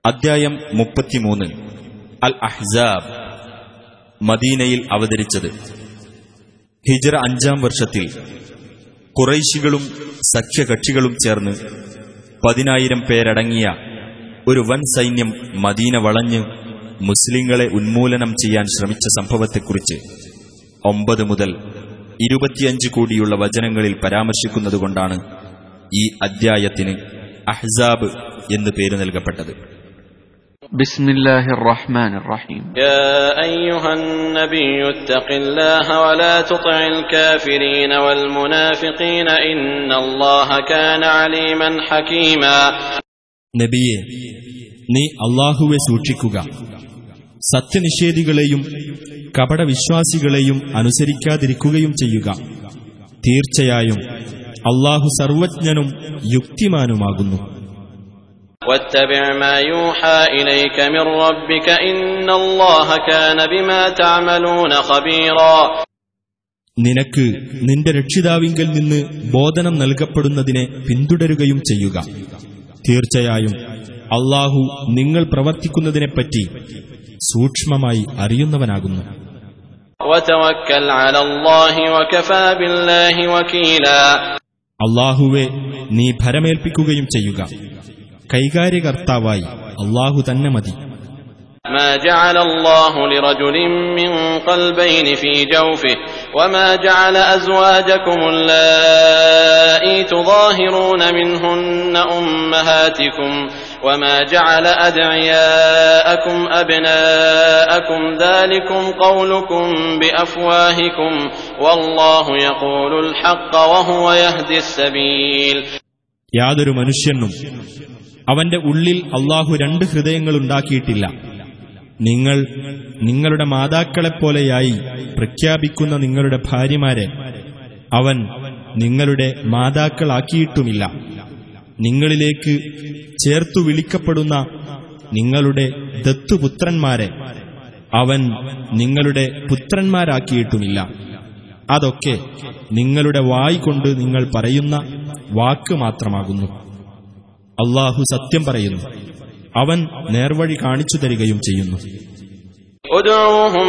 അദ്ധ്യായം 33 അൽ അഹ്സാബ്. മദീനയിൽ അവതരിച്ചത് ഹിജ്റ 5-ാം വർഷത്തിൽ ഖുറൈശികളും സഖ്യകക്ഷികളും ചേർന്ന് 10,000 പേരടങ്ങിയ ഒരു വൻ സൈന്യം മദീന വളഞ്ഞ് മുസ്ലിങ്ങളെ ഉന്മൂലനം ചെയ്യാൻ ശ്രമിച്ച സംഭവത്തെക്കുറിച്ച് 9 മുതൽ 25 കൂടിയുള്ള വചനങ്ങളിൽ പരാമർശിക്കുന്നതുകൊണ്ടാണ് ഈ അദ്ധ്യായത്തിന് അഹ്സാബ് എന്ന് പേര് നൽകപ്പെട്ടത്. ബിസ്മില്ലാഹിർ റഹ്മാനിർ റഹീം. യാ അയ്യുഹൻ നബിയ്യു ഇത്തഖില്ലാഹ വലാ തുതിഇൽ കാഫിരീന വൽ മുനാഫിഖീന ഇന്നല്ലാഹ കാന അലീമൻ ഹകീമാ. നബിയേ, നീ അല്ലാഹുവെ സൂക്ഷിക്കുക, സത്യനിഷേധികളെയും കപടവിശ്വാസികളെയും അനുസരിക്കാതിരിക്കുകയും ചെയ്യുക. തീർച്ചയായും അല്ലാഹു സർവജ്ഞനും യുക്തിമാനുമാകുന്നു. വത്തബിഅ മാ യൂഹാ ഇലൈക മിർ റബ്ബിക ഇന്നല്ലാഹ കാന ബിമാ തഅമലൂന ഖബീറാ. നിനക്ക് നിന്റെ രക്ഷിതാവിങ്കൽ നിന്ന് ബോധനം നൽകപ്പെടുന്നതിനെ പിന്തുടരുകയും ചെയ്യുക. തീർച്ചയായും അല്ലാഹു നിങ്ങൾ പ്രവർത്തിക്കുന്നതിനെപ്പറ്റി സൂക്ഷ്മമായി അറിയുന്നവനാകുന്നു. വതവക്കൽ അലല്ലാഹി വകഫാ ബില്ലാഹി വകീലാ. അല്ലാഹുവേ, നീ ഭരമേൽപ്പിക്കുകയും ചെയ്യുക, കൈകാര്യകർത്താവായി അല്ലാഹു തന്നെ മതി. ما جعل الله لرجل من قلبين في جوفه وما جعل أزواجكم اللائي تظاهرون منهن أمهاتكم وما جعل أدعياءكم أبناءكم ذلكم قولكم بأفواهكم والله يقول الحق وهو يهدي السبيل. യാതൊരു മനുഷ്യനും അവന്റെ ഉള്ളിൽ അല്ലാഹു 2 ഹൃദയങ്ങളുണ്ടാക്കിയിട്ടില്ല. നിങ്ങൾ നിങ്ങളുടെ മാതാക്കളെപ്പോലെയായി പ്രഖ്യാപിക്കുന്ന നിങ്ങളുടെ ഭാര്യമാരെ അവൻ നിങ്ങളുടെ മാതാക്കളാക്കിയിട്ടുമില്ല. നിങ്ങളിലേക്ക് ചേർത്തു വിളിക്കപ്പെടുന്ന നിങ്ങളുടെ ദത്തുപുത്രന്മാരെ അവൻ നിങ്ങളുടെ പുത്രന്മാരാക്കിയിട്ടുമില്ല. അതൊക്കെ നിങ്ങളുടെ വായ് കൊണ്ട് നിങ്ങൾ പറയുന്ന വാക്ക് മാത്രമാകുന്നു. അല്ലാഹു സത്യം പറയുന്നു, അവൻ നേർവഴി കാണിച്ചു തരികയും ചെയ്യുന്നു. ഉദ്ഉഹും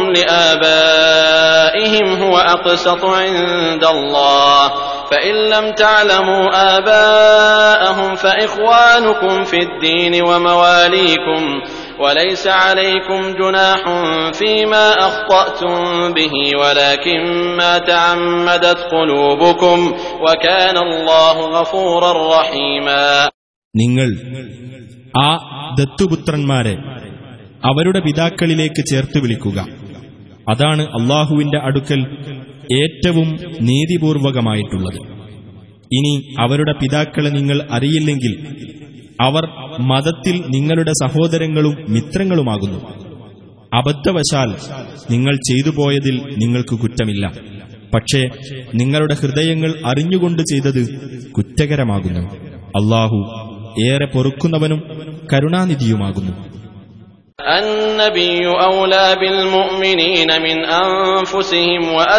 ലിആബാഇഹിം ഹുവ അഖ്സതു ഇൻദല്ലാഹ് ഫഇൻ ലം തഅലമൂ ആബാഅഹും ഫഇഖ്വാനുകും ഫിദ്ദീൻ വമവാലീകും വലൈസ അലൈക്കും ജുനാഹുൻ ഫീമാ അഖ്തഅതും ബിഹി വലാകിൻ മാ തഅമ്മദത് ഖുലൂബുകും വകാന അല്ലാഹു ഗഫൂറർ റഹീമാ. നിങ്ങൾ ആ ദത്തുപുത്രന്മാരെ അവരുടെ പിതാക്കളിലേക്ക് ചേർത്ത് വിളിക്കുക. അതാണ് അല്ലാഹുവിന്റെ അടുക്കൽ ഏറ്റവും നീതിപൂർവകമായിട്ടുള്ളത്. ഇനി അവരുടെ പിതാക്കളെ നിങ്ങൾ അറിയില്ലെങ്കിൽ അവർ മതത്തിൽ നിങ്ങളുടെ സഹോദരങ്ങളും മിത്രങ്ങളുമാകുന്നു. അബദ്ധവശാൽ നിങ്ങൾ ചെയ്തു പോയതിൽ നിങ്ങൾക്ക് കുറ്റമില്ല. പക്ഷേ നിങ്ങളുടെ ഹൃദയങ്ങൾ അറിഞ്ഞുകൊണ്ട് ചെയ്തത് കുറ്റകരമാകുന്നു. അല്ലാഹു ഏറെ പൊറുക്കുന്നവനും കരുണാനിധിയുമാകുന്നു. النبي أولى بالمؤمنين من أنفسهم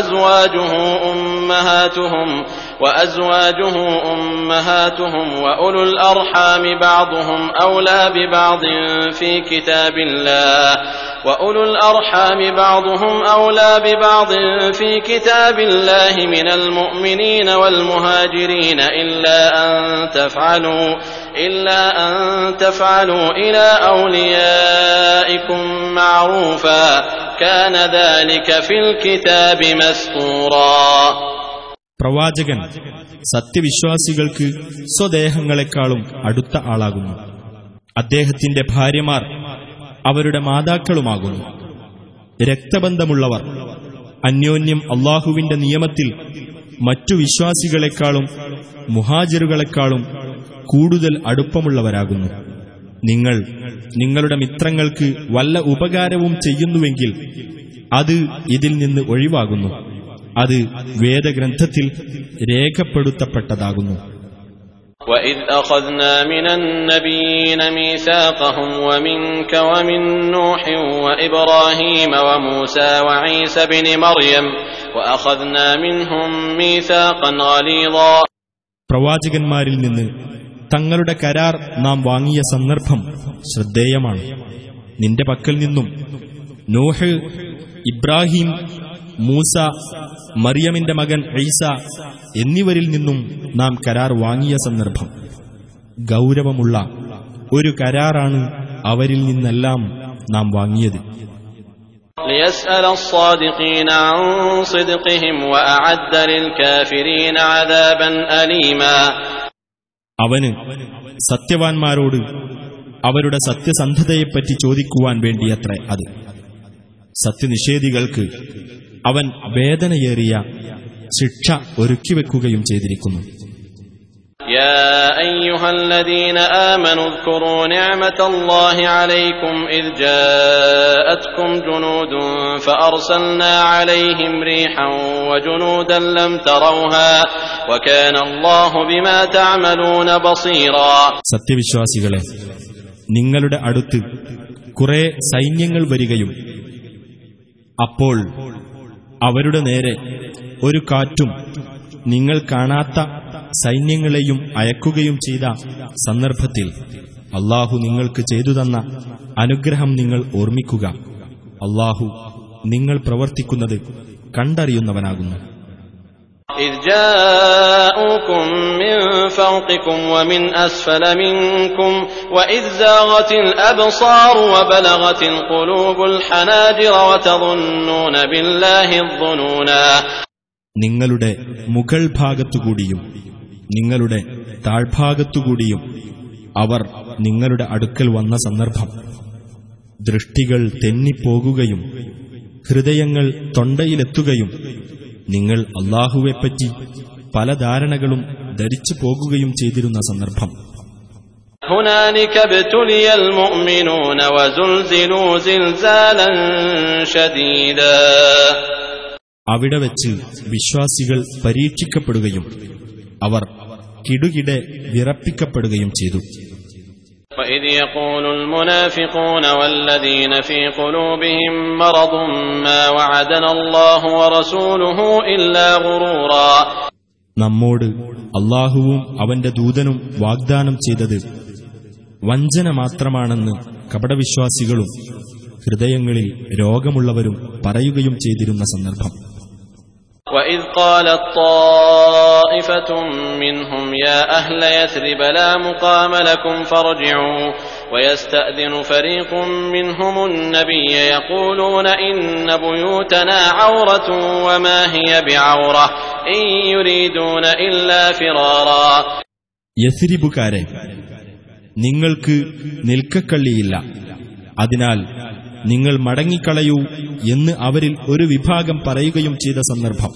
وأزواجه أمهاتهم وأولو الأرحام بعضهم أولى ببعض في كتاب الله في كتاب الله من المؤمنين والمهاجرين إلا أن تفعلوا إلى أوليائكم معروفا كان ذلك في الكتاب مسطورا. പ്രവാചകൻ സത്യവിശ്വാസികൾക്ക് സ്വദേഹങ്ങളെക്കാളും അടുത്ത ആളാകുന്നു. അദ്ദേഹത്തിന്റെ ഭാര്യമാർ അവരുടെ മാതാക്കളുമാകുന്നു. രക്തബന്ധമുള്ളവർ അന്യോന്യം അല്ലാഹുവിന്റെ നിയമത്തിൽ മറ്റു വിശ്വാസികളെക്കാളും മുഹാജിറുകളെക്കാളും കൂടുതൽ അടുപ്പമുള്ളവരാകുന്നു. നിങ്ങൾ നിങ്ങളുടെ മിത്രങ്ങൾക്ക് വല്ല ഉപകാരവും ചെയ്യുന്നുവെങ്കിൽ അത് ഇതിൽ നിന്ന് ഒഴിവാകുന്നു. അത് വേദഗ്രന്ഥത്തിൽ രേഖപ്പെടുത്തപ്പെട്ടതാകുന്നു. وَإِذْ أَخَذْنَا مِنَ النَّبِيِّينَ مِيثَاقَهُمْ وَمِنكَ وَمِن نُّوحٍ وَإِبْرَاهِيمَ وَمُوسَى وَعِيسَى ابْنِ مَرْيَمَ وَأَخَذْنَا مِنْهُم مِّيثَاقًا غَلِيظًا. പ്രവാചകന്മാരിൽ നിന്ന് തങ്ങളുടെ കരാർ നാം വാങ്ങിയ സന്ദർഭം ശ്രദ്ധേയമാണ്. നിന്റെ പക്കൽ നിന്നും നോഹ്, ഇബ്രാഹിം, മൂസ, മറിയമിന്റെ മകൻ ഈസ എന്നിവരിൽ നിന്നും നാം കരാർ വാങ്ങിയ സന്ദർഭം ഗൗരവമുള്ള ഒരു കരാറാണ് അവരിൽ നിന്നെല്ലാം നാം വാങ്ങിയത്. ليسأل الصادقين عن صدقهم وأعد للكافرين عذابا أليما. അവന് സത്യവാൻമാരോട് അവരുടെ സത്യസന്ധതയെപ്പറ്റി ചോദിക്കുവാൻ വേണ്ടിയത്രേ അത്. സത്യനിഷേധികൾക്ക് അവൻ വേദനയേറിയ ശിക്ഷ ഒരുക്കിവെക്കുകയും ചെയ്തിരിക്കുന്നു. يا أيها الذين آمنوا اذكروا نعمة الله عليكم إذ جاءتكم جنود فأرسلنا عليهم ريحا وجنودا لم تروها وكان الله بما تعملون بصيرا. സത്യവിശ്വാസികളെ, നിങ്ങളുടെ അടുത്ത് കുറെ സൈന്യങ്ങൾ വരികയും അപ്പോൾ അവരുടെ നേരെ ഒരു കാറ്റും നിങ്ങൾ കാണാത്ത സൈന്യങ്ങളെയും അയക്കുകയും ചെയ്ത സന്ദർഭത്തിൽ അല്ലാഹു നിങ്ങൾക്ക് ചെയ്തു തന്ന അനുഗ്രഹം നിങ്ങൾ ഓർമ്മിക്കുക. അല്ലാഹു നിങ്ങൾ പ്രവർത്തിക്കുന്നത് കണ്ടറിയുന്നവനാകുന്നു. إذ جاءوكم من فوقكم ومن أسفل منكم وإذ زاغت الأبصار وبلغت القلوب الحناجر وتظنون بالله الظنونا. നിങ്ങളുടെ മുകൾ ഭാഗത്തുകൂടിയും നിങ്ങളുടെ താഴ്ഭാഗത്തുകൂടിയും അവർ നിങ്ങളുടെ അടുക്കൽ വന്ന സന്ദർഭം ദൃഷ്ടികൾ തെന്നിപ്പോകുകയും ഹൃദയങ്ങൾ തൊണ്ടയിലെത്തുകയും നിങ്ങൾ അല്ലാഹുവെപ്പറ്റി പല ധാരണകളും ധരിച്ചു പോകുകയും ചെയ്തിരുന്ന സന്ദർഭം. هنالك ابتلي المؤمنون وزلزلوا زلزالا شديدا. അവിടെ വെച്ച് വിശ്വാസികൾ പരീക്ഷിക്കപ്പെടുകയും അവർ കിടുകിടെ വിറപ്പിക്കപ്പെടുകയും ചെയ്തു. وإذ يقول المنافقون والذين في قلوبهم مرض ما وعدنا الله ورسوله إلا غرورا. നമ്മോട് അല്ലാഹുവും അവന്റെ ദൂതനും വാഗ്ദാനം ചെയ്തത് വഞ്ചന മാത്രമാണെന്ന് കപടവിശ്വാസികളും ഹൃദയങ്ങളിൽ രോഗമുള്ളവരും പറയുകയും ചെയ്തിരുന്ന സന്ദർഭം. وإذ قالت طائفة منهم يا أهل يثرب لا مقام لكم فارجعوا ويستأذن فريق منهم النبي يقولون إن بيوتنا عورة وما هي بعورة إن يريدون إلا فرارا. യസ്രിബുകാരെ, നിങ്ങൾക്ക് നിൽക്കക്കള്ളിയില്ല, അതിനാൽ നിങ്ങൾ മടങ്ങിക്കളയൂ എന്ന് അവരിൽ ഒരു വിഭാഗം പറയുകയും ചെയ്ത സന്ദർഭം.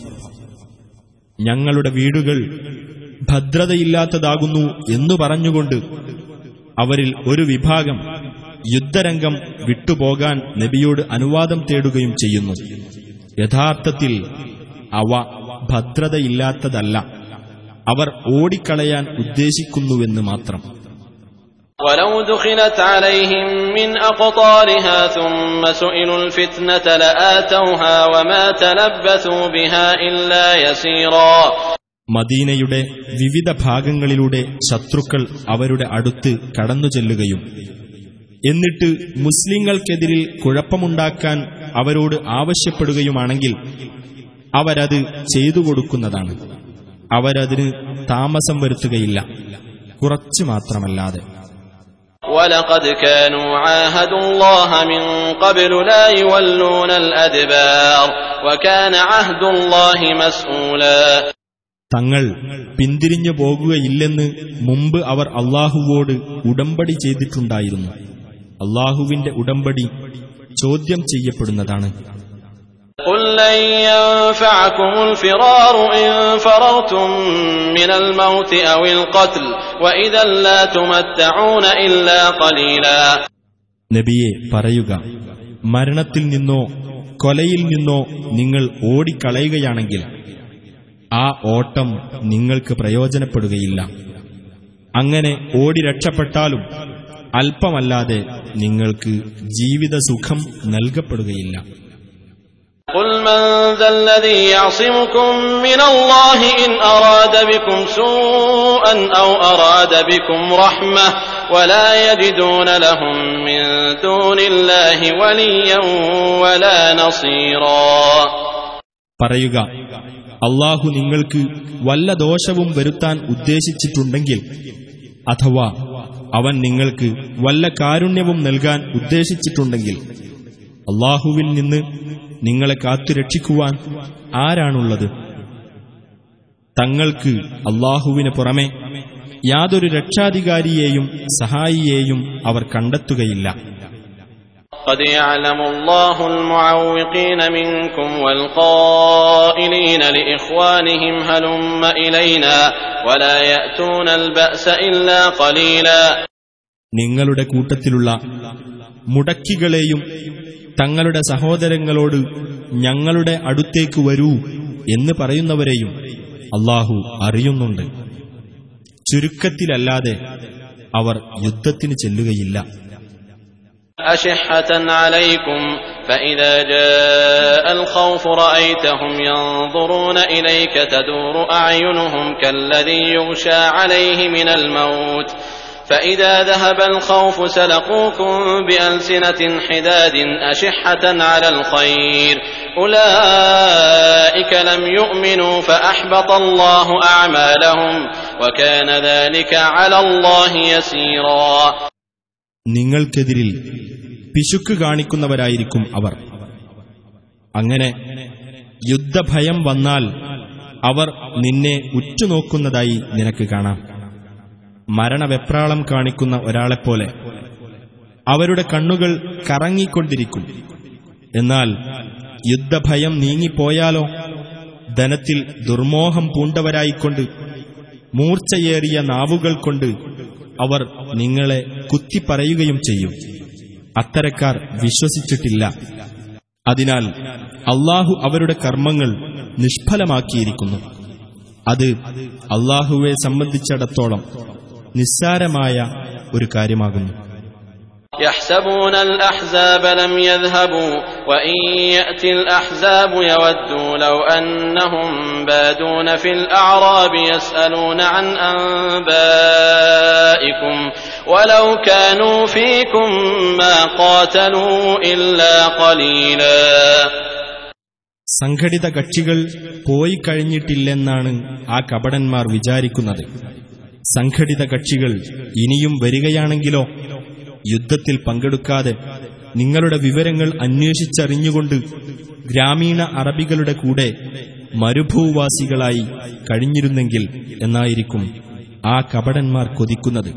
ഞങ്ങളുടെ വീടുകൾ ഭദ്രതയില്ലാത്തതാകുന്നു എന്നു പറഞ്ഞുകൊണ്ട് അവരിൽ ഒരു വിഭാഗം യുദ്ധരംഗം വിട്ടുപോകാൻ നബിയോട് അനുവാദം തേടുകയും ചെയ്യുന്നു. യഥാർത്ഥത്തിൽ അവ ഭദ്രതയില്ലാത്തതല്ല, അവർ ഓടിക്കളയാൻ ഉദ്ദേശിക്കുന്നുവെന്ന് മാത്രം. ولو دخلت عليهم من أقطارها ثم سئلوا الفتنة لآتوها وما تلبثوا بها إلا يسيرا. മദീനയുടെ വിവിധ ഭാഗങ്ങളിലൂടെ ശത്രുക്കൾ അവരുടെ അടുത്ത് കടന്നുചെല്ലുകയും എന്നിട്ട് മുസ്ലിങ്ങൾക്കെതിരിൽ കുഴപ്പമുണ്ടാക്കാൻ അവരോട് ആവശ്യപ്പെടുകയുമാണെങ്കിൽ അവരത് ചെയ്തു കൊടുക്കുന്നതാണ്. അവരതിന് താമസം വരുത്തുകയില്ല, കുറച്ചു മാത്രമല്ലാതെ. وَلَقَدْ كَانُوا عَاهَدُوا اللَّهَ مِنْ قَبْلُ لَا يُوَلُّونَ الْأَدْبَارَ وَكَانَ عَهْدُ اللَّهِ مَسْئُولًا. തങ്ങൾ പിന്തിരിഞ്ഞു പോകുകയില്ലെന്ന് മുമ്പ് അവർ അല്ലാഹുവോട് ഉടമ്പടി ചെയ്തിട്ടുണ്ടായിരുന്നു. അല്ലാഹുവിന്റെ ഉടമ്പടി ചോദ്യം ചെയ്യപ്പെടുന്നതാണ്. قُلْ لَنْ يَنْفَعَكُمُ الْفِرَارُ إِنْ فَرَرْتُمْ مِنَ الْمَوْتِ أَوِ الْقَتْلِ وَإِذًا لَا تُمَتَّعُونَ إِلَّا قَلِيلًا. നബിയെ പറയുക, മരണത്തിൽ നിന്നോ കൊലയിൽ നിന്നോ നിങ്ങൾ ഓടിക്കളയുകയാണെങ്കിൽ ആ ഓട്ടം നിങ്ങൾക്ക് പ്രയോജനപ്പെടുകയില്ല. അങ്ങനെ ഓടി രക്ഷപ്പെട്ടാലും അല്പമല്ലാതെ നിങ്ങൾക്ക് ജീവിതസുഖം നൽകപ്പെടുകയില്ല. قل من ذا الذي يعصمكم من الله إن أراد بكم سوءا أو أراد بكم رحمة ولا يجدون لهم من دون الله وليا ولا نصيرا. പറയുക, അല്ലാഹു നിങ്ങൾക്ക് വല്ല ദോഷവും വരുത്താൻ ഉദ്ദേശിച്ചിട്ടുണ്ടെങ്കിൽ, അഥവാ അവൻ നിങ്ങൾക്ക് വല്ല കാരുണ്യവും നൽകാൻ ഉദ്ദേശിച്ചിട്ടുണ്ടെങ്കിൽ, അല്ലാഹുവിൽ നിന്ന് നിങ്ങളെ കാത്തുരക്ഷിക്കുവാൻ ആരാണുള്ളത്? തങ്ങൾക്ക് അല്ലാഹുവിന് പുറമെ യാതൊരു രക്ഷാധികാരിയെയും സഹായിയെയും അവർ കണ്ടെത്തുകയില്ല. قد يعلم الله المعوقين منكم والقائلين لإخوانهم هلم إلينا ولا يأتون البأس إلا قليلا. നിങ്ങളുടെ കൂട്ടത്തിലുള്ള മുടക്കികളെയും തങ്ങളുടെ സഹോദരങ്ങളോട് ഞങ്ങളുടെ അടുത്തേക്ക് വരൂ എന്ന് പറയുന്നവരെയും അല്ലാഹു അറിയുന്നുണ്ട്. ചുരുക്കത്തിലല്ലാതെ അവർ യുദ്ധത്തിന് ചെല്ലുകയില്ല. أشحة عليكم فإذا جاء الخوف رأيتهم ينظرون إليك تدور أعينهم كالذي يغشى عليه من الموت فإذا ذهب الخوف سلقوكم بألسنة حداد أشحة على الخير أولئك لم يؤمنوا فأحبط الله أعمالهم وكان ذلك على الله يسيرا. നിങ്ങൾക്കെതിരിൽ പിശുക്ക് കാണിക്കുന്നവരായിരിക്കും അവർ. അങ്ങനെ യുദ്ധഭയം വന്നാൽ അവർ നിന്നെ ഉറ്റുനോക്കുന്നതായി നിനക്ക് കാണാം. മരണവെപ്രാളം കാണിക്കുന്ന ഒരാളെപ്പോലെ അവരുടെ കണ്ണുകൾ കറങ്ങിക്കൊണ്ടിരിക്കും. എന്നാൽ യുദ്ധഭയം നീങ്ങിപ്പോയാലോ ധനത്തിൽ ദുർമോഹം പൂണ്ടവരായിക്കൊണ്ട് മൂർച്ചയേറിയ നാവുകൾ കൊണ്ട് അവർ നിങ്ങളെ കുത്തിപ്പറയുകയും ചെയ്യും. അത്തരക്കാർ വിശ്വസിച്ചിട്ടില്ല. അതിനാൽ അല്ലാഹു അവരുടെ കർമ്മങ്ങൾ നിഷ്ഫലമാക്കിയിരിക്കുന്നു. അത് അല്ലാഹുവെ സംബന്ധിച്ചിടത്തോളം നിസ്സാരമായ ഒരു കാര്യമാകുന്നു. يحسبون الأحزاب لم يذهبوا وإن يأتي الأحزاب يودوا لو أنهم بادون في الأعراب يسألون عن أنبائكم ولو كانوا فيكم ما قاتلوا إلا قليلا. സംഘടിത കക്ഷികൾ പോയി കഴിഞ്ഞിട്ടില്ലെന്നാണ് ആ കപടന്മാർ വിചാരിക്കുന്നത്. സംഘടിത കക്ഷികൾ ഇനിയും വരികയാണെങ്കിലോ യുദ്ധത്തിൽ പങ്കെടുക്കാതെ നിങ്ങളുടെ വിവരങ്ങൾ അന്വേഷിച്ചറിഞ്ഞുകൊണ്ട് ഗ്രാമീണ അറബികളുടെ കൂടെ മരുഭൂവാസികളായി കഴിഞ്ഞിരുന്നെങ്കിൽ എന്നായിരിക്കും ആ കപടന്മാർ കൊതിക്കുന്നത്.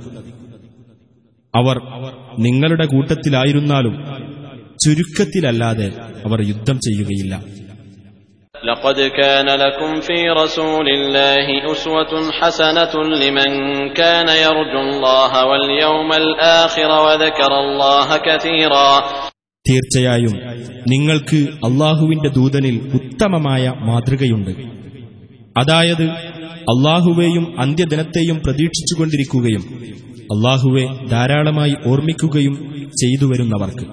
അവർ നിങ്ങളുടെ കൂട്ടത്തിലായിരുന്നാലും ചുരുക്കത്തിലല്ലാതെ അവർ യുദ്ധം ചെയ്യുകയില്ല. لقد كان لكم في رسول الله أسوة حسنة لمن كان يرجو الله واليوم الآخر وذكر الله كثيرا. തീർച്ചയായും നിങ്ങൾക്ക് അല്ലാഹുവിന്റെ ദൂതനിൽ ഉത്തമമായ മാതൃകയുണ്ട്. അതായത് അല്ലാഹുവേയും അന്ത്യദിനത്തെയും പ്രതീക്ഷിച്ചുകൊണ്ടിരിക്കുകയും അല്ലാഹുവെ ധാരാളമായി ഓർമ്മിക്കുകയും ചെയ്തുവരുന്നവർക്ക്.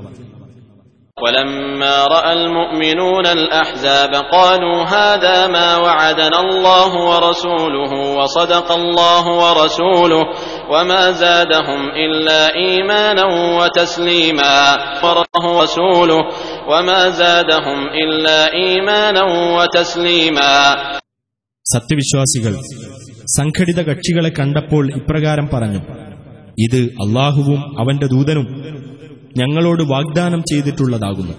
ولما رأى المؤمنون الأحزاب قالوا هذا ما وعدنا الله ورسوله وصدق الله ورسوله وما زادهم إلا إيمانا وتسليما ورسوله وما زادهم إلا إيمانا وتسليما. സത്യവിശ്വാസികൾ സംഘടിത കക്ഷികളെ കണ്ടപ്പോൾ ഇപ്രകാരം പറഞ്ഞു, ഇത് അല്ലാഹുവും അവന്റെ ദൂതനും ഞങ്ങളോട് വാഗ്ദാനം ചെയ്തിട്ടുള്ളതാകുന്നു.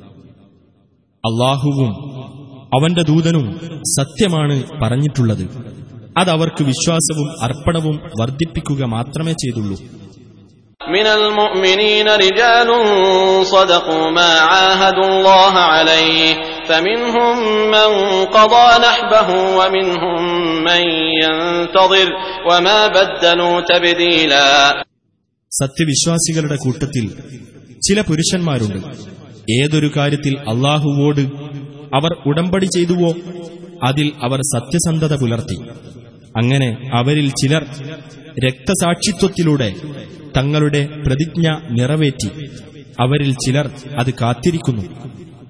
അല്ലാഹുവും അവന്റെ ദൂതനും സത്യമാണ് പറഞ്ഞിട്ടുള്ളത്. അതവർക്ക് വിശ്വാസവും അർപ്പണവും വർദ്ധിപ്പിക്കുക മാത്രമേ ചെയ്തുള്ളൂ. من المؤمنين رجال صدقوا ما عاهدوا الله عليه فمنهم من قضى نحبه ومنهم من ينتظر وما بدلوا تبديلا. സത്യവിശ്വാസികളുടെ കൂട്ടത്തിൽ ചില പുരുഷന്മാരുണ്ട്. ഏതൊരു കാര്യത്തിൽ അല്ലാഹുവോട് അവർ ഉടമ്പടി ചെയ്തുവോ അതിൽ അവർ സത്യസന്ധത പുലർത്തി. അങ്ങനെ അവരിൽ ചിലർ രക്തസാക്ഷിത്വത്തിലൂടെ തങ്ങളുടെ പ്രതിജ്ഞ നിറവേറ്റി. അവരിൽ ചിലർ അത് കാത്തിരിക്കുന്നു.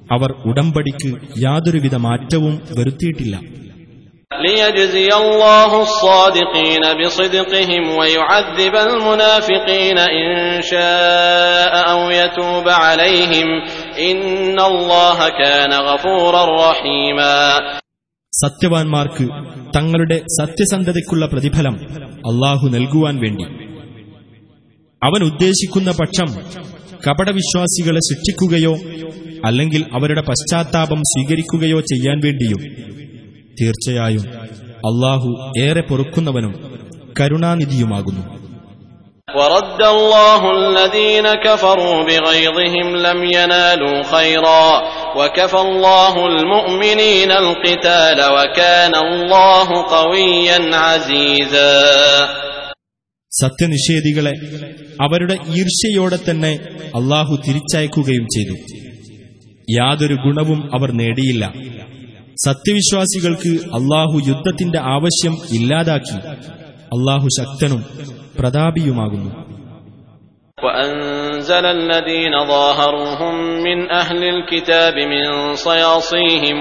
അവർ ഉടമ്പടിക്ക് യാതൊരുവിധ മാറ്റവും വരുത്തിയിട്ടില്ല. ليجزي الله الصادقين بصدقهم ويعذب المنافقين إن شاء أو يتوب عليهم إن الله كان غفورا رحيما. സത്യവാൻമാർക്ക് തങ്ങളുടെ സത്യസന്ധതയ്ക്കുള്ള പ്രതിഫലം അല്ലാഹു നൽകുവാൻ വേണ്ടി അവൻ ഉദ്ദേശിക്കുന്ന പക്ഷം കപടവിശ്വാസികളെ ശിക്ഷിക്കുകയോ അല്ലെങ്കിൽ അവരുടെ പശ്ചാത്താപം സ്വീകരിക്കുകയോ ചെയ്യാൻ വേണ്ടിയും തീർച്ചയായും അല്ലാഹു ഏറെ പൊറുക്കുന്നവനും കരുണാനിധിയുമാകുന്നു. وَرَدَّ اللَّهُ الَّذِينَ كَفَرُوا بِغَيظِهِمْ لَمْ يَنَالُوا خَيْرًا وَكَفَى اللَّهُ الْمُؤْمِنِينَ الْقِتَالَ وَكَانَ اللَّهُ قَوِيًّا عَزِيزًا. സത്യനിഷേധികളെ അവരുടെ ഈർഷ്യയോടെ തന്നെ അല്ലാഹു തിരിച്ചയക്കുകയും ചെയ്തു. യാതൊരു ഗുണവും അവർ നേടിയില്ല. സത്യവിശ്വാസികൾക്ക് അല്ലാഹു യുദ്ധത്തിന്റെ ആവശ്യം ഇല്ലാതാക്കി. അല്ലാഹു ശക്തനും പ്രതാപിയുമാകുന്നു. وَأَنزَلَ الَّذِينَ ظَاهَرُوهُم مِّنْ أَهْلِ الْكِتَابِ مِنْ صَيَاصِيهِمْ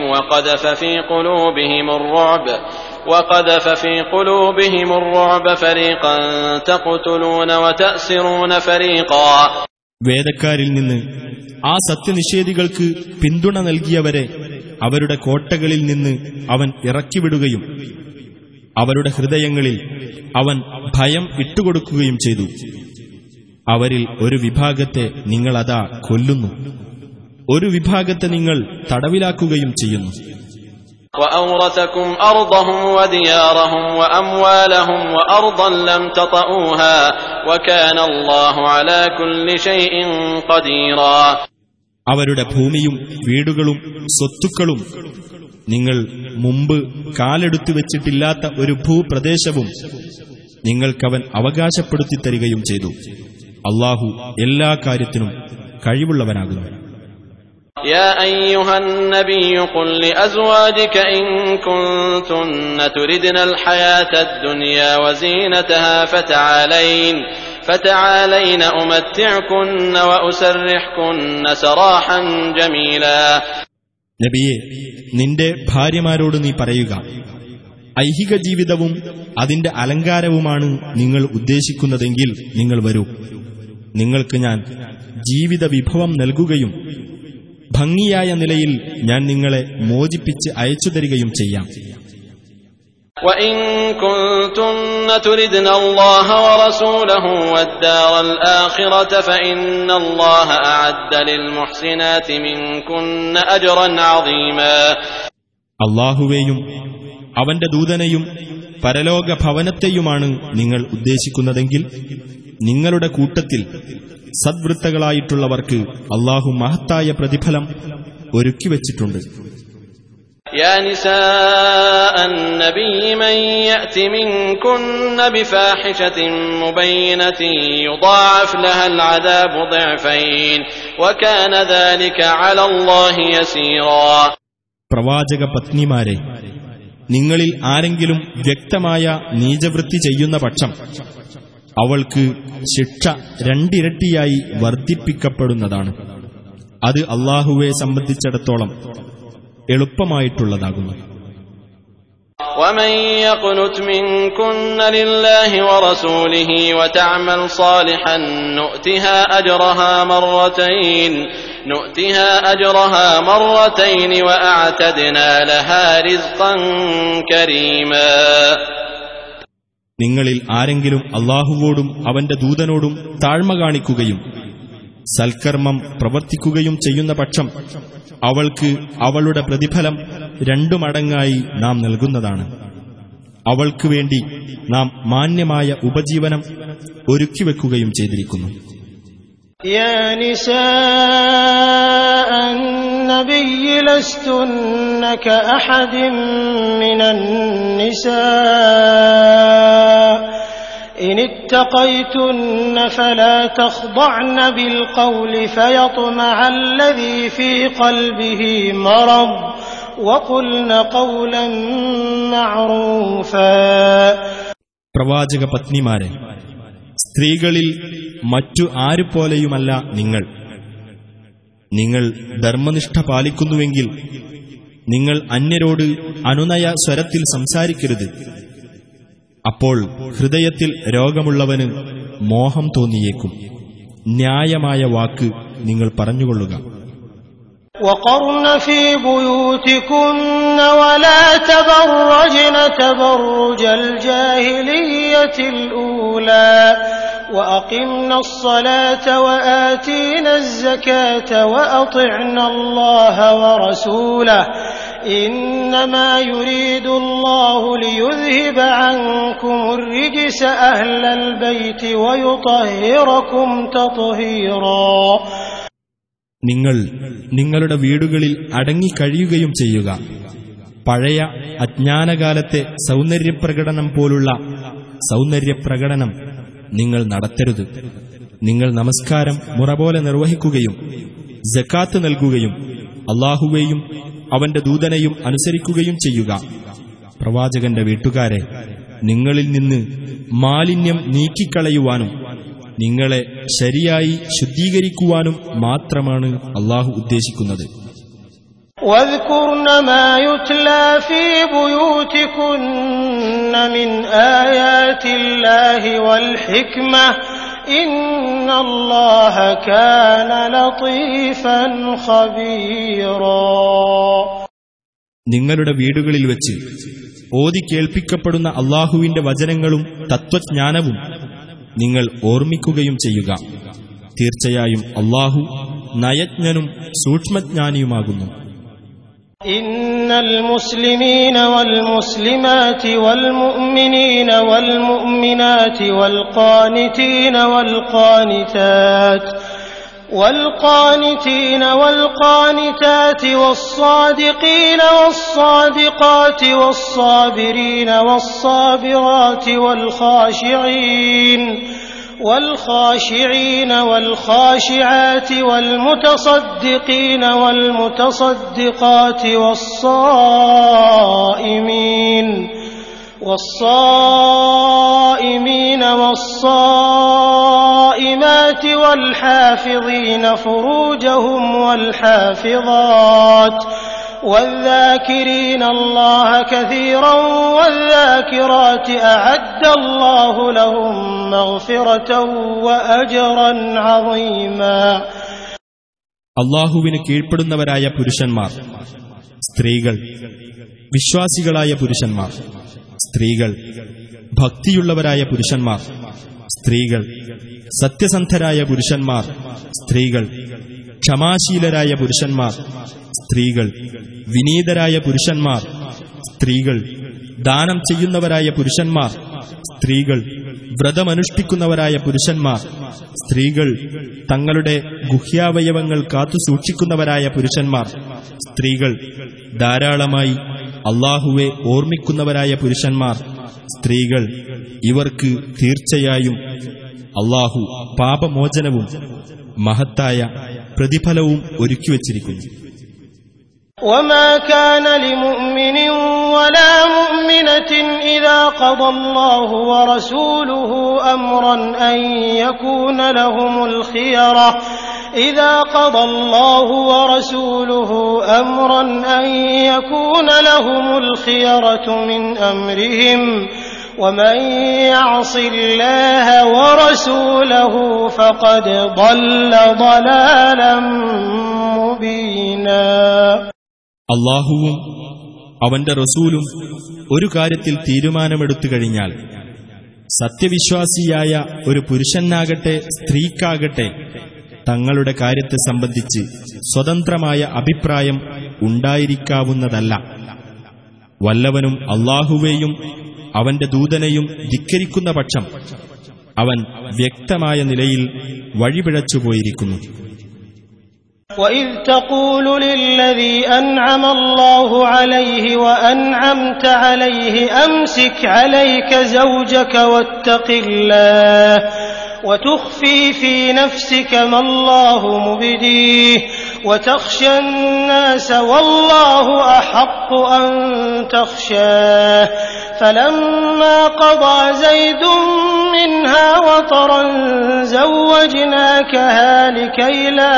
وَقَذَفَ فِي قُلُوبِهِمُ الرُّعْبَ فَرِيقًا تَقْتُلُونَ وَتَأْسِرُونَ فَرِيقًا. വേദക്കാരിൽ നിന്ന് ആ സത്യനിഷേധികൾക്ക് പിന്തുണ നൽകിയവരെ അവരുടെ കോട്ടകളിൽ നിന്ന് അവൻ ഇറക്കിവിടുകയും അവരുടെ ഹൃദയങ്ങളിൽ അവൻ ഭയം ഇട്ടുകൊടുക്കുകയും ചെയ്തു. അവരിൽ ഒരു വിഭാഗത്തെ നിങ്ങൾ അതാ കൊല്ലുന്നു, ഒരു വിഭാഗത്തെ നിങ്ങൾ തടവിലാക്കുകയും ചെയ്യുന്നു. وَأَوْرَثَكُمْ أَرْضَهُمْ وَدِيَارَهُمْ وَأَمْوَالَهُمْ وَأَرْضًا لَّمْ تَطَئُوهَا وَكَانَ اللَّهُ عَلَى كُلِّ شَيْءٍ قَدِيرًا. അവരുടെ ഭൂമിയും വീടുകളും സ്വത്തുക്കളും നിങ്ങൾ മുമ്പ് കാലെടുത്തു വെച്ചിട്ടില്ലാത്ത ഒരു ഭൂപ്രദേശവും നിങ്ങൾക്കവൻ അവകാശപ്പെടുത്തി തരികയും ചെയ്തു. അല്ലാഹു എല്ലാ കാര്യത്തിനും കഴിവുള്ളവനാകുന്നു. يا أيها النبي قل لأزواجك إن كنتن تردن الحياة الدنيا وزينتها فتعالين أمتعكن وأسرحكن سراحا جميلا. നബിയെ, നിന്റെ ഭാര്യമാരോട് നീ പറയുക, ഐഹിക ജീവിതവും അതിന്റെ അലങ്കാരവുമാണ് നിങ്ങൾ ഉദ്ദേശിക്കുന്നതെങ്കിൽ നിങ്ങൾ വരൂ. നിങ്ങൾക്ക് ഞാൻ ജീവിത വിഭവം നൽകുകയും ഭംഗിയായ നിലയിൽ ഞാൻ നിങ്ങളെ മോചിപ്പിച്ച് അയച്ചു തരികയും ചെയ്യാം. وَإِن كُنتُنَّ تُرِدْنَ اللَّهَ وَرَسُولَهُ وَالدَّارَ الْآخِرَةَ فَإِنَّ اللَّهَ أَعَدَّ لِلْمُحْسِنَاتِ مِنكُنَّ أَجْرًا عَظِيمًا. അല്ലാഹുവേയും അവന്റെ ദൂതനെയും പരലോക ഭവനത്തെയുമാണ് നിങ്ങൾ ഉദ്ദേശിക്കുന്നതെങ്കിൽ നിങ്ങളുടെ കൂട്ടത്തിൽ സദ്വൃത്തകളായിട്ടുള്ളവർക്ക് അല്ലാഹു മഹത്തായ പ്രതിഫലം ഒരുക്കിവച്ചിട്ടുണ്ട്. يا نساء النبي من يأت منكن بفاحشة مبينة يضاعف لها العذاب ضعفين وكان ذلك على الله يسيرا. പ്രവാചക പത്നിമാരെ, നിങ്ങളിൽ ആരെങ്കിലും വ്യക്തമായ നീചവൃത്തി ചെയ്യുന്ന പക്ഷം അവൾക്ക് ശിക്ഷ രണ്ടിരട്ടിയായി വർദ്ധിപ്പിക്കപ്പെടുന്നതാണ്. അത് അല്ലാഹുവെ സംബന്ധിച്ചിടത്തോളം എളുപ്പമായിട്ടുള്ളതാകുന്നു. ومن يقنت منكن لله ورسوله وتعمل صالحا نؤتها أجرها مرتين وأعتدنا لها رزقا كريما. നിങ്ങളിൽ ആരെങ്കിലും അല്ലാഹുവോടും അവന്റെ ദൂതനോടും താഴ്മ കാണിക്കുകയും സൽക്കർമ്മം പ്രവർത്തിക്കുകയും ചെയ്യുന്ന പക്ഷം അവൾക്ക് അവളുടെ പ്രതിഫലം 2 മടങ്ങായി നാം നൽകുന്നതാണ്. അവൾക്ക് വേണ്ടി നാം മാന്യമായ ഉപജീവനം ഒരുക്കിവെക്കുകയും ചെയ്തിരിക്കുന്നു. يا نساء النبي لستن كأحد من النساء إن اتقيتن فلا تخضعن بالقول فيطمع الذي في قلبه مرض وقلن قولا معروفا. പ്രവാചക പത്നിമാരെ, സ്ത്രീകളിൽ മറ്റു ആരുപോലെയുമല്ല നിങ്ങൾ. നിങ്ങൾ ധർമ്മനിഷ്ഠ പാലിക്കുന്നുവെങ്കിൽ നിങ്ങൾ അന്യരോട് അനുനയ സ്വരത്തിൽ സംസാരിക്കരുത്. അപ്പോൾ ഹൃദയത്തിൽ രോഗമുള്ളവന് മോഹം തോന്നിയേക്കും. ന്യായമായ വാക്ക് നിങ്ങൾ പറഞ്ഞുകൊള്ളുക. وقرن في بيوتكن ولا تبرجن تبرج الجاهلية الأولى وأقمنا الصلاة وآتينا الزكاة وأطعنا الله ورسوله إنما يريد الله ليذهب عنكم الرجس أهل البيت ويطهركم تطهيرا. നിങ്ങൾ നിങ്ങളുടെ വീടുകളിൽ അടങ്ങിക്കഴിയുകയും ചെയ്യുക. പഴയ അജ്ഞാനകാലത്തെ സൗന്ദര്യപ്രകടനം പോലുള്ള സൗന്ദര്യപ്രകടനം നിങ്ങൾ നടത്തരുത്. നിങ്ങൾ നമസ്കാരം മുറപോലെ നിർവഹിക്കുകയും സക്കാത്ത് നൽകുകയും അല്ലാഹുവേയും അവന്റെ ദൂതനെയും അനുസരിക്കുകയും ചെയ്യുക. പ്രവാചകന്റെ വീട്ടുകാരെ, നിങ്ങളിൽ നിന്ന് മാലിന്യം നീക്കിക്കളയുവാനും നിങ്ങളെ ശരിയായി ശുദ്ധീകരിക്കുവാനും മാത്രമാണ് അല്ലാഹു ഉദ്ദേശിക്കുന്നത്. واذكرن ما يتلى في بيوتكن من آيات الله والحكمة إن الله كان لطيفا خبيرا. നിങ്ങളുടെ വീടുകളിൽ വെച്ച് ഓതി കേൾപ്പിക്കപ്പെടുന്ന അല്ലാഹുവിന്റെ വചനങ്ങളും തത്വജ്ഞാനവും നിങ്ങൾ ഓർമ്മിക്കുകയും ചെയ്യുക. തീർച്ചയായും അല്ലാഹു നയജ്ഞനും സൂക്ഷ്മജ്ഞാനിയുമാകുന്നു. ഇന്നൽ മുസ്ലിമീന വൽ മുസ്ലിമാതി വൽ മുഅ്മിനീന വൽ മുഅ്മിനാതി വൽ ഖാനിതീന വൽ ഖാനിതാത് والقانتين والقانتات والصادقين والصادقات والصابرين والصابرات والخاشعين والخاشعات والمتصدقين والمتصدقات والصائمين والصائمات والحافظين فروجهم والحافظات والذاكرين الله كثيرا والذاكرات أعد الله لهم مغفرة وأجرا عظيما. അല്ലാഹുവിന് കീഴ്പ്പെടുന്നവരായ പുരുഷന്മാർ, സ്ത്രീകൾ, വിശ്വാസികളായ പുരുഷന്മാർ, സ്ത്രീകൾ, ഭക്തിയുള്ളവരായ പുരുഷന്മാർ, സ്ത്രീകൾ, സത്യസന്ധരായ പുരുഷന്മാർ, സ്ത്രീകൾ, ക്ഷമാശീലരായ പുരുഷന്മാർ, സ്ത്രീകൾ, വിനീതരായ പുരുഷന്മാർ, സ്ത്രീകൾ, ദാനം ചെയ്യുന്നവരായ പുരുഷന്മാർ, സ്ത്രീകൾ, വ്രതമനുഷ്ഠിക്കുന്നവരായ പുരുഷന്മാർ, സ്ത്രീകൾ, തങ്ങളുടെ ഗുഹ്യാവയവങ്ങൾ കാത്തുസൂക്ഷിക്കുന്നവരായ പുരുഷന്മാർ, സ്ത്രീകൾ, ധാരാളമായി അല്ലാഹുവെ ഓർമ്മിക്കുന്നവരായ പുരുഷന്മാർ, സ്ത്രീകൾ, ഇവർക്ക് തീർച്ചയായും അല്ലാഹു പാപമോചനവും മഹത്തായ പ്രതിഫലവും ഒരുക്കിവച്ചിരിക്കുന്നു. وما كان لمؤمن ولا مؤمنة إذا قضى الله ورسوله أمرا أن يكون لهم الخيرة إذا قضى الله ورسوله أمرا أن يكون لهم الخيرة من أمرهم ومن يعص الله ورسوله فقد ضل ضلالا مبينا. അല്ലാഹുവും അവന്റെ റസൂലും ഒരു കാര്യത്തിൽ തീരുമാനമെടുത്തു കഴിഞ്ഞാൽ സത്യവിശ്വാസിയായ ഒരു പുരുഷനാകട്ടെ സ്ത്രീക്കാകട്ടെ തങ്ങളുടെ കാര്യത്തെ സംബന്ധിച്ച് സ്വതന്ത്രമായ അഭിപ്രായം ഉണ്ടായിരിക്കാവുന്നതല്ല. വല്ലവനും അല്ലാഹുവേയും അവന്റെ ദൂതനെയും ധിക്കരിക്കുന്ന പക്ഷം അവൻ വ്യക്തമായ നിലയിൽ വഴിപിഴച്ചുപോയിരിക്കുന്നു. وَإِذْ تَقُولُ لِلَّذِي أَنْعَمَ اللَّهُ عَلَيْهِ وَأَنْعَمْتَ عَلَيْهِ أَمْسِكْ عَلَيْكَ زَوْجَكَ وَاتَّقِ اللَّهَ وَتُخْفِي فِي نَفْسِكَ مَا اللَّهُ مُبْدِيهِ وتخشى الناس والله أحق أن تخشاه فلما قضى زيد منها وطرا زوجناكها لكي لا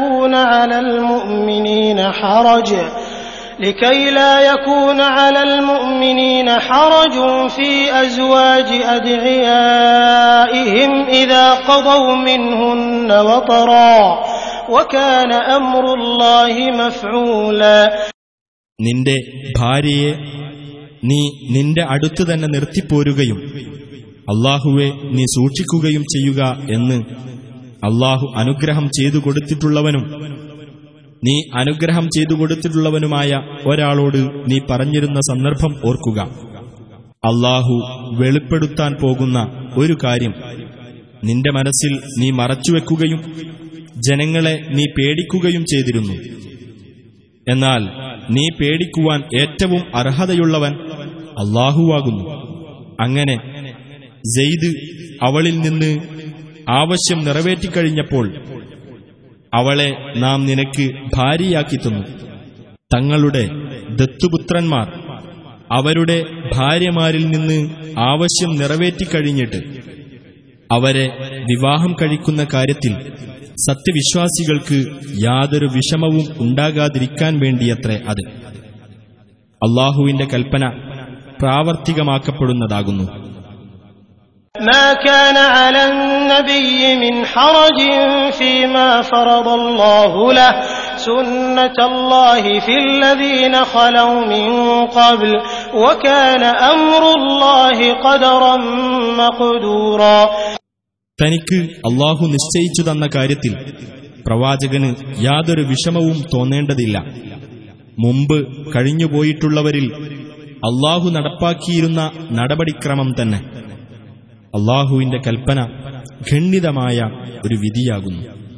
يكون على المؤمنين حرج في أزواج أدعيائهم إذا قضوا منهن وطرا وكان أمر الله مفعولا. നിന്റെ ഭാര്യയെ നീ നിന്റെ അടുത്ത് തന്നെ നിർത്തിപ്പോരുകയും അല്ലാഹുവെ നീ സൂക്ഷിക്കുകയും ചെയ്യുക എന്ന് അല്ലാഹു അനുഗ്രഹം ചെയ്തു കൊടുത്തിട്ടുള്ളവനും നീ അനുഗ്രഹം ചെയ്തു കൊടുത്തിട്ടുള്ളവനുമായ ഒരാളോട് നീ പറഞ്ഞിരുന്ന സന്ദർഭം ഓർക്കുക. അല്ലാഹു വെളിപ്പെടുത്താൻ പോകുന്ന ഒരു കാര്യം നിന്റെ മനസ്സിൽ നീ മറച്ചുവെക്കുകയും ജനങ്ങളെ നീ പേടിക്കുകയും ചെയ്തിരുന്നു. എന്നാൽ നീ പേടിക്കുവാൻ ഏറ്റവും അർഹതയുള്ളവൻ അല്ലാഹുവാകുന്നു. അങ്ങനെ സെയ്ദ് അവളിൽ നിന്ന് ആവശ്യം നിറവേറ്റിക്കഴിഞ്ഞപ്പോൾ അവളെ നാം നിനക്ക് ഭാര്യയാക്കി തന്നു. തങ്ങളുടെ ദത്തുപുത്രന്മാർ അവരുടെ ഭാര്യമാരിൽ നിന്ന് ആവശ്യം നിറവേറ്റിക്കഴിഞ്ഞിട്ട് അവരെ വിവാഹം കഴിക്കുന്ന കാര്യത്തിൽ സത്യവിശ്വാസികൾക്ക് യാതൊരു വിഷമവും ഉണ്ടാകാതിരിക്കാൻ വേണ്ടിയത്രേ അത്. അല്ലാഹുവിന്റെ കൽപ്പന പ്രാവർത്തികമാക്കപ്പെടുന്നതാകുന്നു. ما كان على النبي من حرج فيما فرض الله له سنة الله في الذين خلوا من قبل وكان أمر الله قدرا مقدورا. തനിക്ക് അല്ലാഹു നിശ്ചയിച്ചു തന്ന കാര്യത്തിൽ പ്രവാചകന് യാതൊരു വിഷമവും തോന്നേണ്ടതില്ല. മുമ്പ് കഴിഞ്ഞുപോയിട്ടുള്ളവരിൽ അല്ലാഹു നടപ്പാക്കിയിരുന്ന നടപടിക്രമം തന്നെ. അല്ലാഹുവിന്റെ കൽപ്പന ഖണ്ഡിതമായ ഒരു വിധിയാകുന്നു.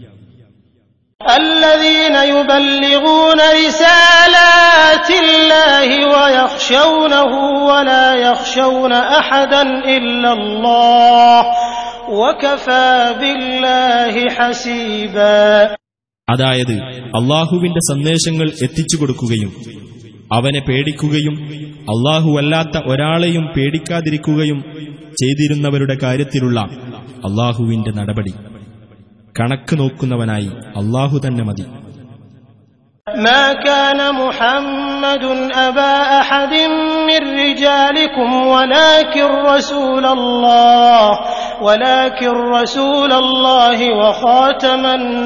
الذين يبلغون رسالات الله ويخشونه ولا يخشون أحدا إلا الله وكفى بالله حسيبا. അതായത് അല്ലാഹുവിന്റെ സന്ദേശങ്ങൾ എത്തിച്ചു കൊടുക്കുകയും അവനെ പേടിക്കുകയും അല്ലാഹുവല്ലാത്ത ഒരാളെയും പേടിക്കാതിരിക്കുകയും ചെയ്തിരുന്നവരുടെ കാര്യത്തിലുള്ള അല്ലാഹുവിന്റെ നടപടി കണക്ക് നോക്കുന്നവനായി അല്ലാഹു തന്നെ മതി. ما كان محمد أبا أحد من رجالكم ولكن رسول الله وخاتم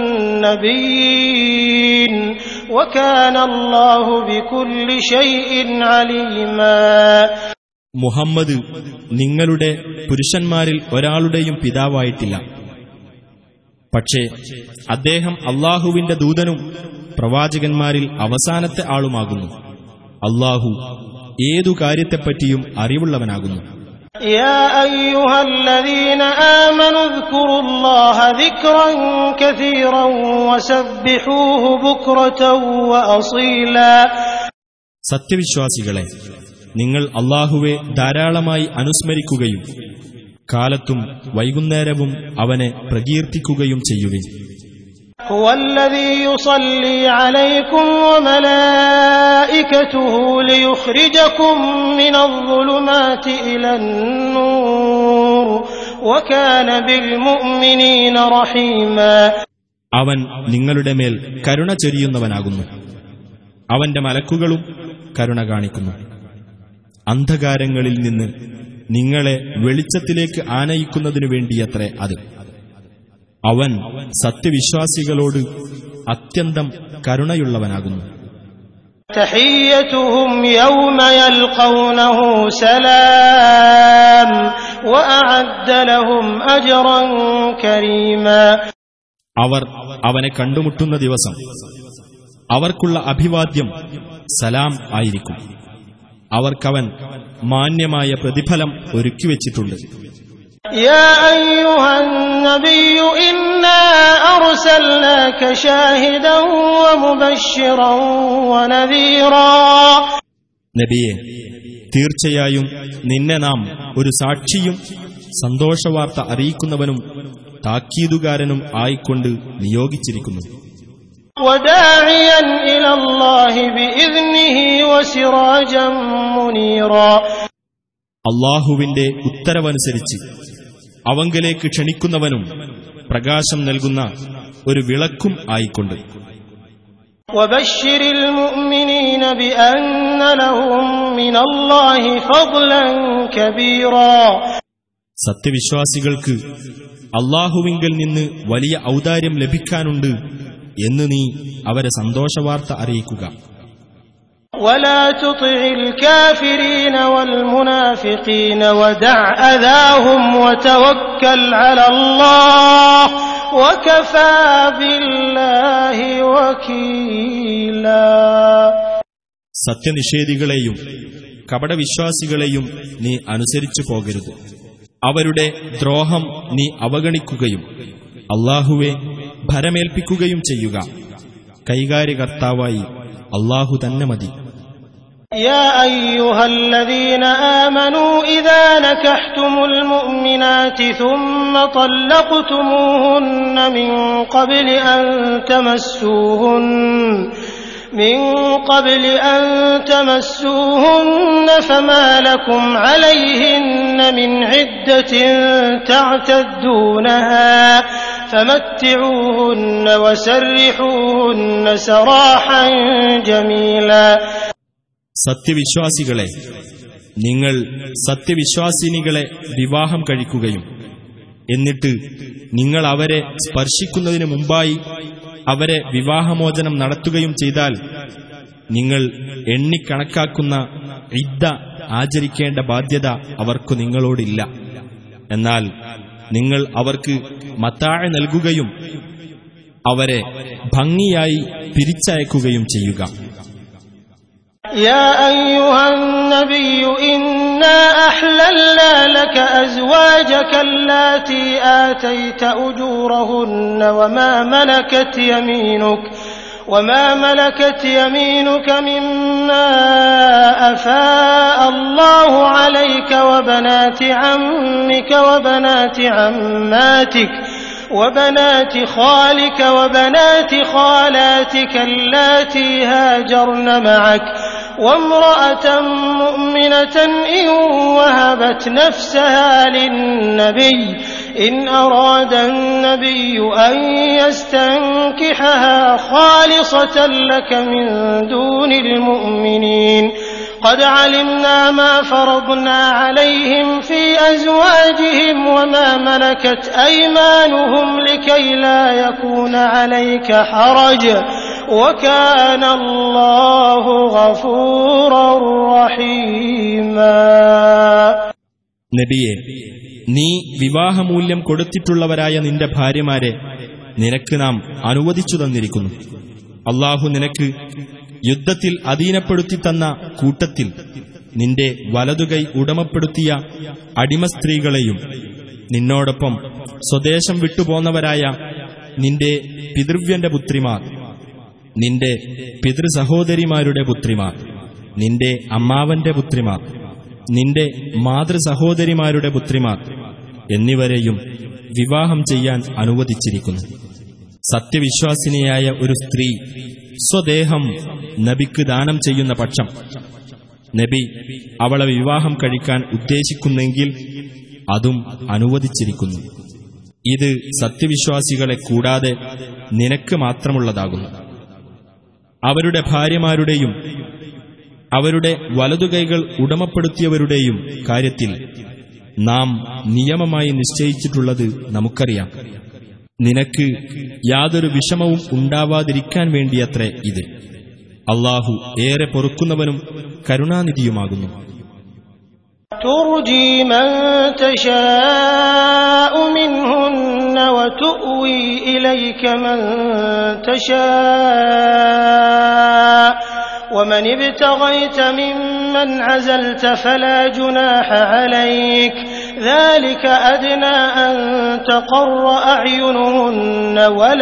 النبيين وكان الله بكل شيء عليما. മുഹമ്മദ് നിങ്ങളുടെ പുരുഷന്മാരിൽ ഒരാളുടെയും പിതാവായിട്ടില്ല. പക്ഷേ അദ്ദേഹം അല്ലാഹുവിന്റെ ദൂതനും പ്രവാചകന്മാരിൽ അവസാനത്തെ ആളുമാകുന്നു. അല്ലാഹു ഏതു കാര്യത്തെപ്പറ്റിയും അറിവുള്ളവനാകുന്നു. يا أيها الذين آمنوا اذكروا الله ذكرا كثيرا وسبحوه بكرة وأصيلا. സത്യവിശ്വാസികളെ, നിങ്ങൾ അല്ലാഹുവെ ധാരാളമായി അനുസ്മരിക്കുകയും കാലത്തും വൈകുന്നേരവും അവനെ പ്രകീർത്തിക്കുകയും ചെയ്യുവിൻ. هو الذي يصلي عليكم وملائكته ليخرجكم من الظلمات إلى النور وكان بالمؤمنين رحيما. അവൻ നിങ്ങളുടെ മേൽ കരുണ ചൊരിയുന്നവനാകുന്നു. അവന്റെ മലക്കുകളും കരുണ കാണിക്കുന്നു. അന്ധകാരങ്ങളിൽ നിന്ന് നിങ്ങളെ വെളിച്ചത്തിലേക്ക് ആനയിക്കുന്നതിനു വേണ്ടിയത്രേ അത്. അവൻ സത്യവിശ്വാസികളോട് അത്യന്തം കരുണയുള്ളവനാകുന്നു. تحيتهم يوم يلقونه سلام وأعد لهم أجرا كريما. അവർ അവനെ കണ്ടുമുട്ടുന്ന ദിവസം അവർക്കുള്ള അഭിവാദ്യം സലാം ആയിരിക്കും. അവർക്കവൻ മാന്യമായ പ്രതിഫലം ഒരുക്കിവെച്ചിട്ടുണ്ട്. يا أيها النبي إنا أرسلناك شاهدا ومبشرا ونذيرا. നബിയെ, തീർച്ചയായും നിന്നെ നാം ഒരു സാക്ഷിയും സന്തോഷവാർത്ത അറിയിക്കുന്നവനും താക്കീതുകാരനും ആയിക്കൊണ്ട് നിയോഗിച്ചിരിക്കുന്നു. وداعيا إلى الله بإذنه وسراجا منيرا. അല്ലാഹുവിന്റെ ഉത്തരവനുസരിച്ച് അവങ്കലേക്ക് ക്ഷണിക്കുന്നവനും പ്രകാശം നൽകുന്ന ഒരു വിളക്കും ആയിക്കൊണ്ട്. وبشر المؤمنين بأن لهم من الله فضلا كبيرا. സത്യവിശ്വാസികൾക്ക് അല്ലാഹുവിങ്കൽ നിന്ന് വലിയ ഔദാര്യം ലഭിക്കാനുണ്ട് എന്ന് നീ അവരെ സന്തോഷവാർത്ത അറിയിക്കുക. ولا تطع الكافرين والمنافقين ودع أذاهم وتوكل على الله وكفى بالله وكيلا. സത്യനിഷേധികളെയും കപടവിശ്വാസികളെയും നീ അനുസരിച്ചു പോകരുത്. അവരുടെ ദ്രോഹം നീ അവഗണിക്കുകയും അല്ലാഹുവെ ഭരമേൽപ്പിക്കുകയും ചെയ്യുക. കൈകാര്യകർത്താവായി അല്ലാഹു തന്നെ മതി. يا أيها الذين آمنوا إذا نكحتم المؤمنات ثم طلقتموهن من قبل أن تمسوهن فما لكم عليهن من عدة تعتدونها فمتعوهن وسرحوهن سراحا جميلا. സത്യവിശ്വാസികളെ, നിങ്ങൾ സത്യവിശ്വാസിനികളെ വിവാഹം കഴിക്കുകയും എന്നിട്ട് നിങ്ങൾ അവരെ സ്പർശിക്കുന്നതിന് മുമ്പായി അവരെ വിവാഹമോചനം നടത്തുകയും ചെയ്താൽ നിങ്ങൾ എണ്ണിക്കണക്കാക്കുന്ന ഇദ്ദ ആചരിക്കേണ്ട ബാധ്യത അവർക്കു നിങ്ങളോടില്ല. എന്നാൽ നിങ്ങൾ അവർക്ക് മത്താഅ നൽകുകയും അവരെ ഭംഗിയായി പിരിച്ചയക്കുകയും ചെയ്യുക. يا أيها النبي إنا أحللنا لك أزواجك اللاتي آتيت أجورهن وما ملكت يمينك مما أفاء الله عليك وبنات عمك وبنات عماتك وبنات خالك وبنات خالاتك اللاتي هاجرن معك وامرأة مؤمنة إن وهبت نفسها للنبي إن أراد النبي أن يستنكحها خالصة لك من دون المؤمنين قد علمنا ما فرضنا عليهم في أزواجهم وما ملكت أيمانهم لكي لا يكون عليك حرج وكان الله غفورا رحيما. നബിയെ, നീ വിവാഹമൂല്യം കൊടുത്തിട്ടുള്ളവരായ നിന്റെ ഭാര്യമാരെ നിനക്ക് നാം അനുവദിച്ചു തന്നിരിക്കുന്നു. അല്ലാഹു നിനക്ക് യുദ്ധത്തിൽ അധീനപ്പെടുത്തി തന്ന കൂട്ടത്തിൽ നിന്റെ വലതുകൈ ഉടമപ്പെടുത്തിയ അടിമസ്ത്രീകളെയും നിന്നോടൊപ്പം സ്വദേശം വിട്ടുപോന്നവരായ നിന്റെ പിതൃവ്യന്റെ പുത്രിമാർ, നിന്റെ പിതൃസഹോദരിമാരുടെ പുത്രിമാർ, നിന്റെ അമ്മാവന്റെ പുത്രിമാർ, നിന്റെ മാതൃസഹോദരിമാരുടെ പുത്രിമാർ എന്നിവരെയും വിവാഹം ചെയ്യാൻ അനുവദിച്ചിരിക്കുന്നു. സത്യവിശ്വാസിനിയായ ഒരു സ്ത്രീ സ്വദേഹം നബിക്ക് ദാനം ചെയ്യുന്ന പക്ഷം നബി അവളെ വിവാഹം കഴിക്കാൻ ഉദ്ദേശിക്കുന്നെങ്കിൽ അതും അനുവദിച്ചിരിക്കുന്നു. ഇത് സത്യവിശ്വാസികളെ കൂടാതെ നിനക്ക് മാത്രമുള്ളതാകുന്നു. അവരുടെ ഭാര്യമാരുടെയും അവരുടെ വലതുകൈകൾ ഉടമപ്പെടുത്തിയവരുടെയും കാര്യത്തിൽ നാം നിയമമായി നിശ്ചയിച്ചിട്ടുള്ളത് നമുക്കറിയാം. നിനക്ക് യാതൊരു വിഷമവും ഉണ്ടാവാതിരിക്കാൻ വേണ്ടിയത്രേ ഇത്. അല്ലാഹു ഏറെ പൊറുക്കുന്നവനും കരുണാനിധിയുമാകുന്നു. ترجي من تشاء منهن وتؤوي إليك من تشاء ومن ابتغيت ممن عزلت فلا جناح عليك ذلك أدنى أن تقر أعينهن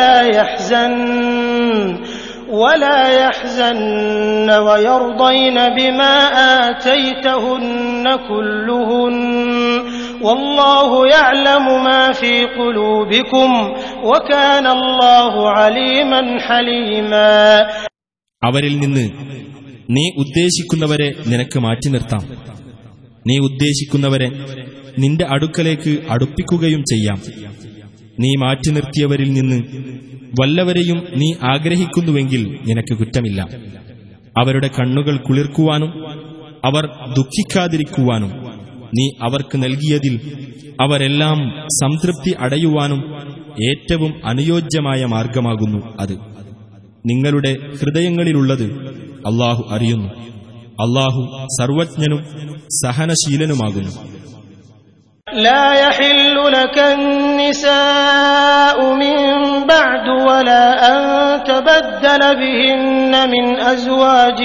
ولا يحزن ويرضين بما آتيتهن كلهن والله يعلم ما في قلوبكم وكان الله عليما حليما. അവരിൽ നിന്ന് നീ ഉദ്ദേശിക്കുന്നവരെ നിനക്ക് മാറ്റി നിർത്താം. നീ ഉദ്ദേശിക്കുന്നവരെ നിന്റെ അടുക്കലേക്ക് അടുപ്പിക്കുകയും ചെയ്യാം. നീ മാറ്റി നിർത്തിയവരിൽ നിന്ന് വല്ലവരെയും നീ ആഗ്രഹിക്കുന്നുവെങ്കിൽ നിനക്ക് കുറ്റമില്ല. അവരുടെ കണ്ണുകൾ കുളിർക്കുവാനും അവർ ദുഃഖിക്കാതിരിക്കുവാനും നീ അവർക്ക് നൽകിയതിൽ അവരെല്ലാം സംതൃപ്തി അടയുവാനും ഏറ്റവും അനുയോജ്യമായ മാർഗമാകുന്നു അത്. നിങ്ങളുടെ ഹൃദയങ്ങളിലുള്ളത് അല്ലാഹു അറിയുന്നു. അല്ലാഹു സർവജ്ഞനും സഹനശീലനുമാകുന്നു. لا يحل لك النساء من بعد ولا أن تبدل بهن من أزواج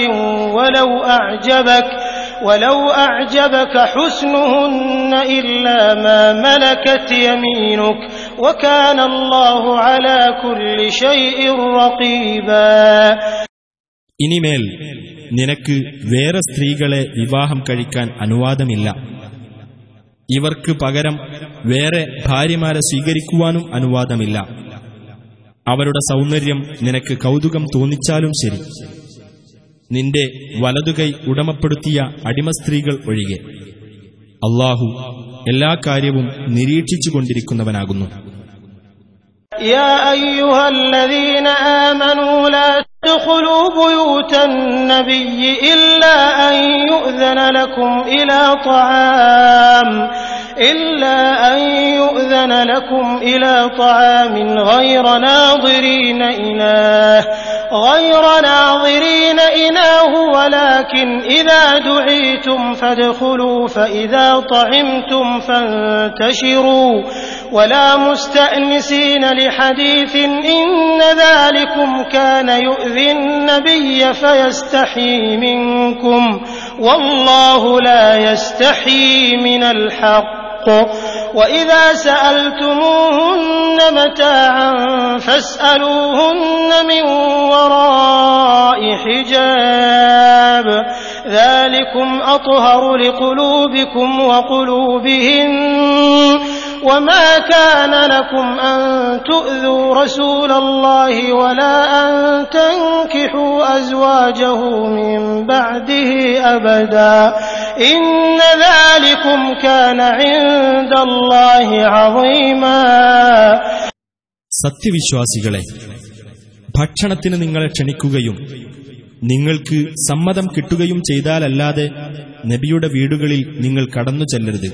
ولو أعجبك حسنهن إلا ما ملكت يمينك وكان الله على كل شيء رقيبا. ഇനിമേൽ നിനക്ക് വേറെ സ്ത്രീകളെ വിവാഹം കഴിക്കാൻ അനുവാദമില്ല. ഇവർക്ക് പകരം വേറെ ഭാര്യമാരെ സ്വീകരിക്കുവാനും അനുവാദമില്ല. അവരുടെ സൗന്ദര്യം നിനക്ക് കൗതുകം തോന്നിച്ചാലും ശരി, നിന്റെ വലതുകൈ ഉടമപ്പെടുത്തിയ അടിമസ്ത്രീകൾ ഒഴികെ. അല്ലാഹു എല്ലാ കാര്യവും നിരീക്ഷിച്ചുകൊണ്ടിരിക്കുന്നവനാകുന്നു. يا أيها الذين آمنوا لا تدخلوا بيوت النبي إلا أن يؤذن لكم إلى طعام غير ناظرين إناه ولكن إذا دعيتم فادخلوا فإذا طعمتم فانتشروا ولا مستأنسين لحديث إن ذلكم كان يؤذي النبي فيستحيي منكم والله لا يستحيي من الحق وإذا سألتموهن متاعا فاسألوهن من وراء حجاب ذلكم أطهر لقلوبكم وقلوبهن وما كان لكم أن تؤذوا رسول الله ولا أن تنكحوا أزواجه من بعده أبدا إن ذلكم كان عند الله عظيما. സത്യവിശ്വാസികളെ, ഭക്ഷണത്തിന് നിങ്ങളെ ക്ഷണിക്കുകയും നിങ്ങൾക്ക് സമ്മതം കിട്ടുകയും ചെയ്താലല്ലാതെ നബിയുടെ വീടുകളിൽ നിങ്ങൾ കടന്നു ചെല്ലരുത്.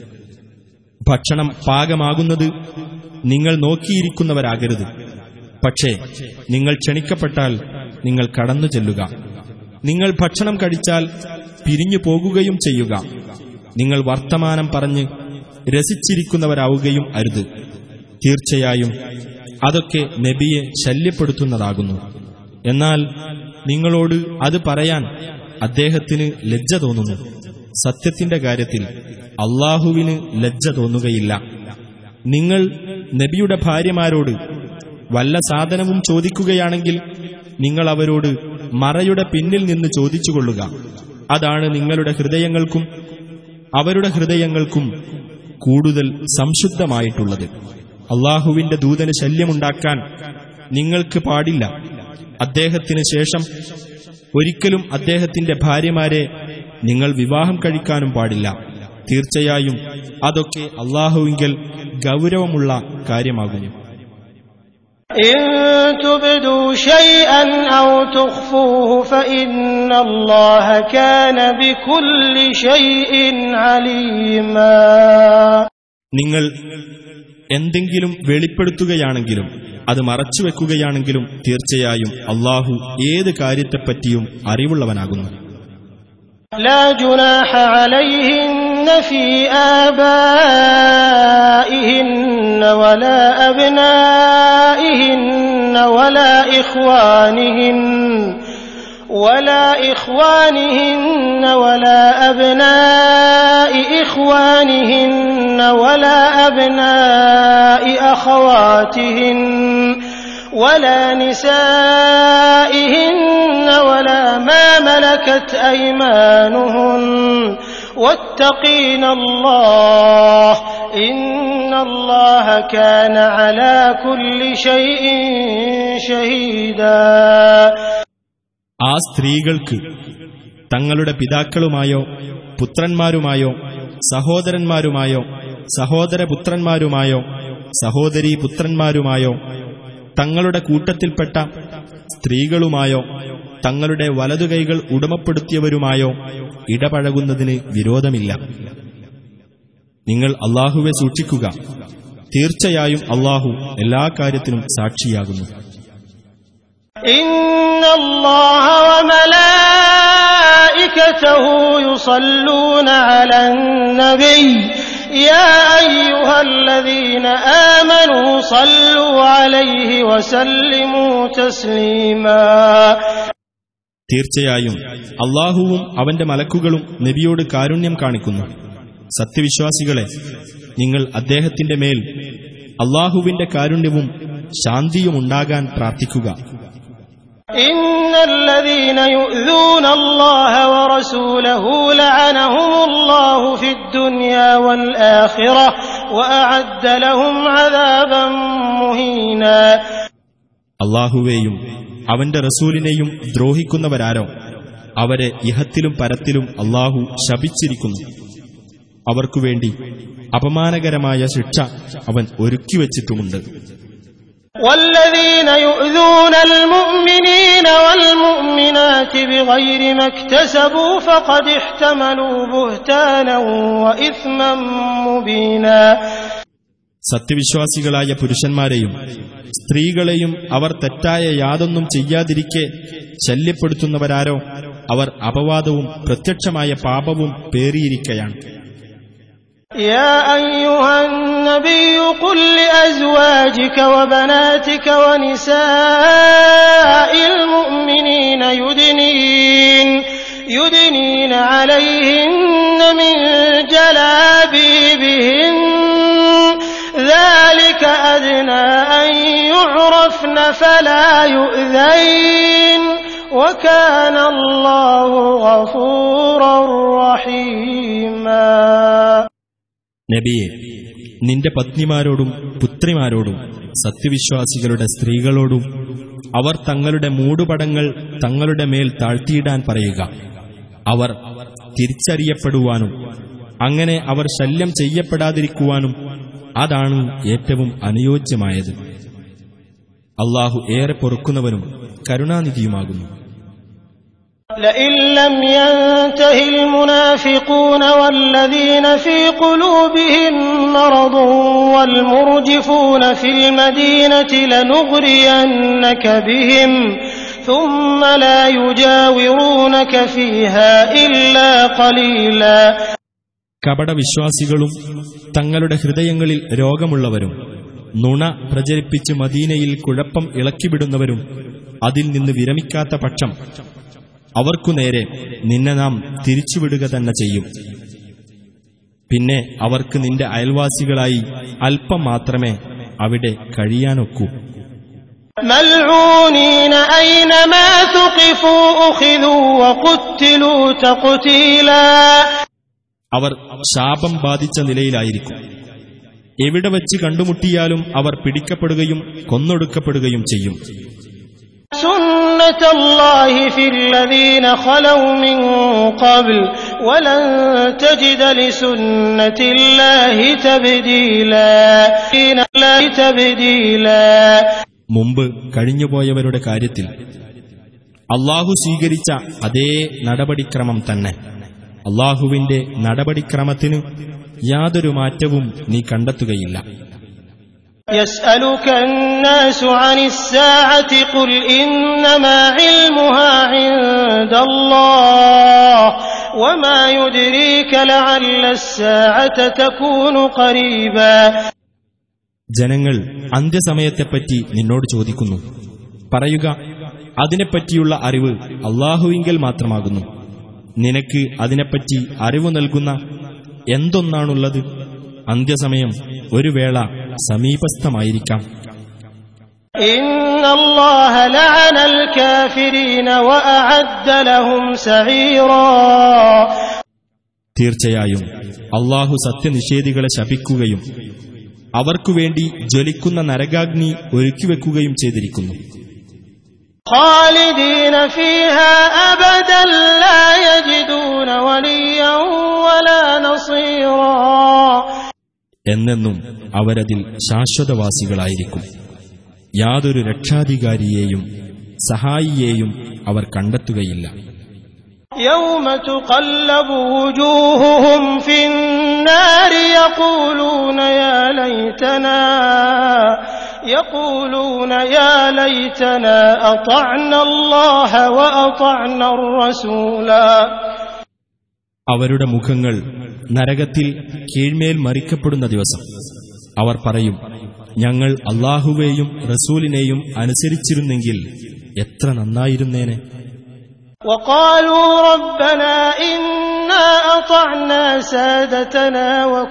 ഭക്ഷണം പാകമാകുന്നത് നിങ്ങൾ നോക്കിയിരിക്കുന്നവരാകരുത്. പക്ഷേ നിങ്ങൾ ക്ഷണിക്കപ്പെട്ടാൽ നിങ്ങൾ കടന്നു ചെല്ലുക. നിങ്ങൾ ഭക്ഷണം കഴിച്ചാൽ പിരിഞ്ഞു പോകുകയും ചെയ്യുക. നിങ്ങൾ വർത്തമാനം പറഞ്ഞ് രസിച്ചിരിക്കുന്നവരാവുകയും അരുത്. തീർച്ചയായും അതൊക്കെ നബിയെ ശല്യപ്പെടുത്തുന്നതാകുന്നു. എന്നാൽ നിങ്ങളോട് അത് പറയാൻ അദ്ദേഹത്തിന് ലജ്ജ തോന്നുന്നു. സത്യത്തിന്റെ കാര്യത്തിൽ അല്ലാഹുവിന് ലജ്ജ തോന്നുകയില്ല. നിങ്ങൾ നബിയുടെ ഭാര്യമാരോട് വല്ല സാധനവും ചോദിക്കുകയാണെങ്കിൽ നിങ്ങൾ അവരോട് മറയുടെ പിന്നിൽ നിന്ന് ചോദിച്ചുകൊള്ളുക. അതാണ് നിങ്ങളുടെ ഹൃദയങ്ങൾക്കും അവരുടെ ഹൃദയങ്ങൾക്കും കൂടുതൽ സംശുദ്ധമായിട്ടുള്ളത്. അല്ലാഹുവിന്റെ ദൂതന് ശല്യമുണ്ടാക്കാൻ നിങ്ങൾക്ക് പാടില്ല. അദ്ദേഹത്തിന് ശേഷം ഒരിക്കലും അദ്ദേഹത്തിന്റെ ഭാര്യമാരെ നിങ്ങൾ വിവാഹം കഴിക്കാനും പാടില്ല. തീർച്ചയായും അതൊക്കെ അല്ലാഹുവിങ്കൽ ഗൗരവമുള്ള കാര്യമാകുന്നു. إن تبدوا شيئا أو تخفوه فإن الله كان بكل شيء عليما. നിങ്ങൾ എന്തെങ്കിലും വെളിപ്പെടുത്തുകയാണെങ്കിലും അത് മറച്ചുവെക്കുകയാണെങ്കിലും തീർച്ചയായും അല്ലാഹു ഏത് കാര്യത്തെപ്പറ്റിയും അറിവുള്ളവനാകുന്നു. لا جناح عليهن في آبائهن ولا أبنائهن ولا إخوانهن ولا أبناء إخوانهن ولا أبناء أخواتهن ولا نسائهن ولا ما ملكت أيمانهن واتقين الله إن الله كان على كل شيء شهيدا. ആ സ്ത്രീകൾക്ക് തങ്ങളുടെ പിതാക്കളുമായോ പുത്രന്മാരുമായോ സഹോദരന്മാരുമായോ സഹോദരപുത്രന്മാരുമായോ സഹോദരീപുത്രന്മാരുമായോ തങ്ങളുടെ കൂട്ടത്തിൽപ്പെട്ട സ്ത്രീകളുമായോ തങ്ങളുടെ വലതുകൈകൾ ഉടമപ്പെടുത്തിയവരുമായോ ഇടപഴകുന്നതിന് വിരോധമില്ല. നിങ്ങൾ അല്ലാഹുവെ സൂക്ഷിക്കുക, തീർച്ചയായും അല്ലാഹു എല്ലാ കാര്യത്തിനും സാക്ഷിയാകുന്നു. ഇന്നല്ലാഹ വമലായികതഹു യുസല്ലൂന അലൻ നബി യാ അയ്യുഹല്ലദീന ആമനൂ സല്ലു അലൈഹി വസല്ലിമൂ തസ്ലീമാ. തീർച്ചയായും അല്ലാഹുവും അവന്റെ മലക്കുകളും നബിയോട് കാരുണ്യം കാണിക്കുന്നു. സത്യവിശ്വാസികളെ, നിങ്ങൾ അദ്ദേഹത്തിന്റെ മേൽ അല്ലാഹുവിന്റെ കാരുണ്യവും ശാന്തിയുമുണ്ടാകാൻ പ്രാർത്ഥിക്കുക. ഇന്നല്ലദീന യുഅ്ദൂന അല്ലാഹ വറസൂലഹു ലഅനഹുമുല്ലാഹു ഫിദ്ദുനിയാ വൽ ആഖിറ വഅഅദ്ദ ലഹും അദാബൻ മുഹീനാ. അല്ലാഹുവേയും അവന്റെ റസൂലിനെയും ദ്രോഹിക്കുന്നവരാരോ അവരെ ഇഹത്തിലും പരത്തിലും അല്ലാഹു ശപിച്ചിരിക്കുന്നു. അവർക്കുവേണ്ടി അപമാനകരമായ ശിക്ഷ അവൻ ഒരുക്കിവച്ചിട്ടുമുണ്ട്. വല്ലദീന യുഅ്ദൂനൽ മുഅ്മിനീന വൽ മുഅ്മിനാതി ബിഗൈരി മക്തസബൂ ഫഖദ് ഇഹ്തമലൂ ബുഹ്താനൻ വഇസ്മൻ മുബീനാ. സത്യവിശ്വാസികളായ പുരുഷന്മാരെയും സ്ത്രീകളെയും അവർ തെറ്റായ യാതൊന്നും ചെയ്യാതിരിക്കെ ശല്യപ്പെടുത്തുന്നവരാരോ അവർ അപവാദവും പ്രത്യക്ഷമായ പാപവും പേറിയിരിക്കയാണ്. يا أيها النبي قل لأزواجك وبناتك ونساء المؤمنين يدنين عليهن من جلابيبهن ذلك أدنى أن يعرفن فلا يؤذين وكان الله غفورا رحيما. നബിയെ, നിന്റെ പത്നിമാരോടും പുത്രിമാരോടും സത്യവിശ്വാസികളുടെ സ്ത്രീകളോടും അവർ തങ്ങളുടെ മൂടുപടങ്ങൾ തങ്ങളുടെ മേൽ താഴ്ത്തിയിടാൻ പറയുക. അവർ തിരിച്ചറിയപ്പെടുവാനും അങ്ങനെ അവർ ശല്യം ചെയ്യപ്പെടാതിരിക്കുവാനും അതാണ് ഏറ്റവും അനുയോജ്യമായത്. അല്ലാഹു ഏറെ പൊറുക്കുന്നവനും കരുണാനിധിയുമാകുന്നു. لئن لم ينته المنافقون والذين في قلوبهم مرض والمرجفون في المدينة لنغرينك بهم ثم لا يجاورونك فيها إلا قليلا. കപടവിശ്വാസികളും തങ്ങളുടെ ഹൃദയങ്ങളിൽ രോഗമുള്ളവരും നുണ പ്രചരിപ്പിച്ച് മദീനയിൽ കുഴപ്പം ഇളക്കിവിടുന്നവരും അതിൽ നിന്ന് വിരമിക്കാത്ത പക്ഷം അവർക്കുനേരെ നിന്നെ നാം തിരിച്ചുവിടുക തന്നെ ചെയ്യും. പിന്നെ അവർക്ക് നിന്റെ അയൽവാസികളായി അല്പം മാത്രമേ അവിടെ കഴിയാനൊക്കൂ. മൽഊനീന ഐനമാ തുഖിഫൂ ഉഖിദൂ വഖുത്തിലൂ തഖ്തീലാ. അവർ ശാപം ബാധിച്ച നിലയിലായിരിക്കും. എവിടെ വച്ച് കണ്ടുമുട്ടിയാലും അവർ പിടിക്കപ്പെടുകയും കൊന്നൊടുക്കപ്പെടുകയും ചെയ്യും. സുന്നത്തുല്ലാഹി ഫില്ലദീന ഖലൗ മിൻ ഖബ്ൽ വലൻ തജിദ ലിസുന്നത്തില്ലാഹി തബ്ദീലാ. മുമ്പ് കഴിഞ്ഞുപോയവരുടെ കാര്യത്തിൽ അല്ലാഹു സ്വീകരിച്ച അതേ നടപടിക്രമം തന്നെ. അല്ലാഹുവിന്റെ നടപടിക്രമത്തിന് യാതൊരു മാറ്റവും നീ കണ്ടെത്തുകയില്ല. يسألك الناس عن الساعة قل إنما علمها عند الله وما يدريك لعل الساعة تكون قريبا. ജനങ്ങൾ അന്ത്യസമയത്തെപ്പറ്റി നിന്നോട് ചോദിക്കുന്നു. പറയുക, അതിനെപ്പറ്റിയുള്ള അറിവ് അല്ലാഹുവിങ്കൽ മാത്രമാകുന്നു. നിനക്ക് അതിനെപ്പറ്റി അറിവ് നൽകുന്ന എന്തൊന്നാണുള്ളത്? അന്ത്യസമയം ഒരു വേള സമീപസ്ഥമായിരിക്കാം. ഇന്നല്ലാഹ ലഅനൽ കാഫിരീന വഅഅദ്ദ ലഹും സഈറാ. തീർച്ചയായും അല്ലാഹു സത്യനിഷേധികളെ ശപിക്കുകയും അവർക്കുവേണ്ടി ജ്വലിക്കുന്ന നരകാഗ്നി ഒരുക്കിവെക്കുകയും ചെയ്തിരിക്കുന്നു. ഖാലിദീന ഫീഹാ അബദൻ ലാ യജിദൂന വലിയ്യൻ വലാ നസീറാ. എന്നെന്നും അവരതിൽ ശാശ്വതവാസികളായിരിക്കും. യാതൊരു രക്ഷാധികാരിയെയും സഹായിയെയും അവർ കണ്ടെത്തുകയില്ല. യൗമ തുഖല്ലബു വുജൂഹുഹും ഫിന്നാരി യഖൂലൂന യാ ലൈതനാ അതഅന അല്ലാഹ വഅതഅന അർ-റസൂല. അവരുടെ മുഖങ്ങൾ നരകത്തിൽ കീഴ്മേൽ മറിക്കപ്പെടുന്ന ദിവസം അവർ പറയും, ഞങ്ങൾ അല്ലാഹുവേയും റസൂലിനെയും അനുസരിച്ചിരുന്നെങ്കിൽ എത്ര നന്നായിരുന്നേനെ. വഖാലൂ റബ്ബനാ ഇന്നാ അതഅനാ സാദതനാ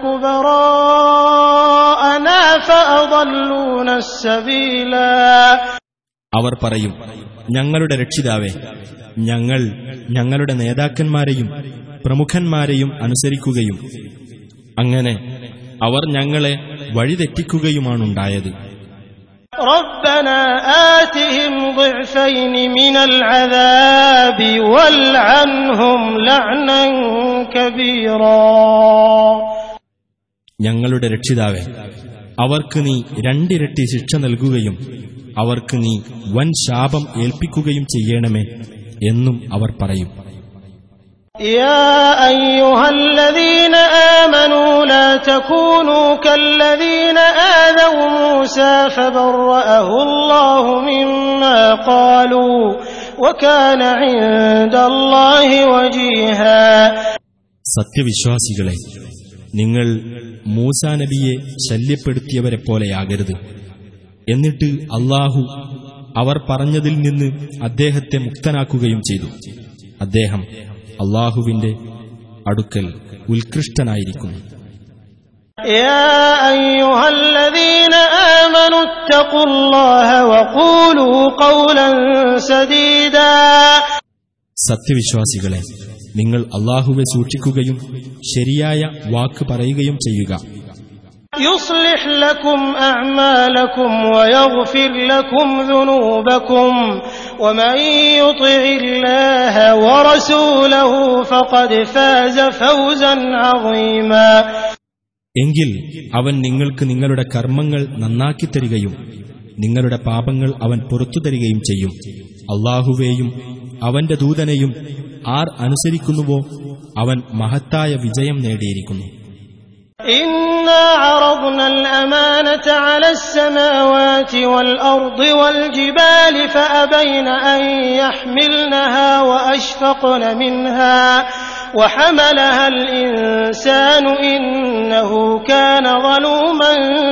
വകുബറാഅനാ ഫഅദല്ലൂന അസ്-സബീല. അവർ പറയും, ഞങ്ങളുടെ രക്ഷിതാവേ, ഞങ്ങൾ ഞങ്ങളുടെ നേതാക്കന്മാരെയും പ്രമുഖന്മാരെയും അനുസരിക്കുകയും അങ്ങനെ അവർ ഞങ്ങളെ വഴിതെറ്റിക്കുകയുമാണുണ്ടായത്. റബ്ബനാ ആതിഹിം ളിഅ്ഫൈനി മിനൽ അദാബി വൽഅൻഹും ലഅ്നൻ കബീറാ. ഞങ്ങളുടെ രക്ഷിതാവേ, അവർക്ക് നീ രണ്ടിരട്ടി ശിക്ഷ നൽകുകയും അവർക്ക് നീ വൻ ശാപം ഏൽപ്പിക്കുകയും ചെയ്യണമേ എന്നും അവർ പറയും. يا أيها الذين آمنوا لا تكونوا كالذين آذوا موسى فبرأه الله مما قالوا وكان عند الله وجيها. സത്യവിശ്വാസികളെ, നിങ്ങൾ മൂസാ നബിയെ ശല്യപ്പെടുത്തിയവരെ പോലെയാകരുത്. എന്നിട്ട് അല്ലാഹു അവർ പറഞ്ഞതിൽ നിന്ന് അദ്ദേഹത്തെ മുക്തനാക്കുകയും ചെയ്തു. അദ്ദേഹം അല്ലാഹുവിന്റെ അടുക്കൽ ഉത്കൃഷ്ടനായിരിക്കുന്നു. يا أيها الذين آمنوا اتقوا الله وقولوا قولا سديدا. സത്യവിശ്വാസികളെ, നിങ്ങൾ അല്ലാഹുവെ സൂക്ഷിക്കുകയും ശരിയായ വാക്ക് പറയുകയും ചെയ്യുക. يصلح لكم أعمالكم ويغفر لكم ذنوبكم ومن يطع الله ورسوله فقد فاز فوزا عظيما. എങ്കിൽ അവൻ നിങ്ങൾക്ക് നിങ്ങളുടെ കർമ്മങ്ങൾ നന്നാക്കി തരികയും നിങ്ങളുടെ പാപങ്ങൾ അവൻ പുറത്തു തരികയും ചെയ്യും. അല്ലാഹുവേയും അവന്റെ ദൂതനെയും ആർ അനുസരിക്കുന്നുവോ അവൻ മഹത്തായ വിജയം നേടിയിരിക്കുന്നു. إنا عرضنا الأمانة على السماوات والأرض والجبال فأبين أن يحملنها وأشفقن منها وحملها الإنسان إنه كان ظلوما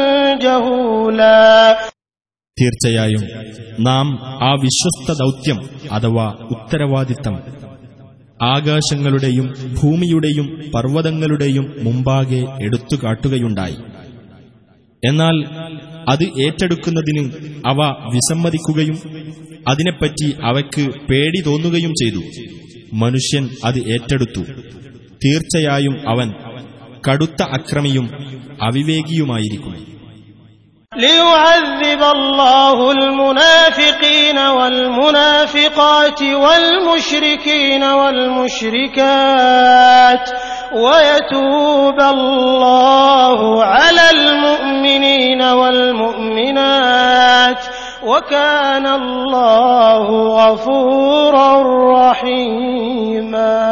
جهولا. തീർച്ചയായും നാം ആ വിശ്വസ്ത ദൗത്യം അഥവാ ഉത്തരവാദിത്തം ആകാശങ്ങളുടെയും ഭൂമിയുടെയും പർവ്വതങ്ങളുടെയും മുമ്പാകെ എടുത്തുകാട്ടുകയുണ്ടായി. എന്നാൽ അത് ഏറ്റെടുക്കുന്നതിന് അവ വിസമ്മതിക്കുകയും അതിനെപ്പറ്റി അവയ്ക്ക് പേടി തോന്നുകയും ചെയ്തു. മനുഷ്യൻ അത് ഏറ്റെടുത്തു. തീർച്ചയായും അവൻ കടുത്ത അക്രമിയും അവിവേകിയുമായിരിക്കും. ليعذب الله المنافقين والمنافقات والمشركين والمشركات ويتوب الله على المؤمنين والمؤمنات وكان الله غفورا رحيما.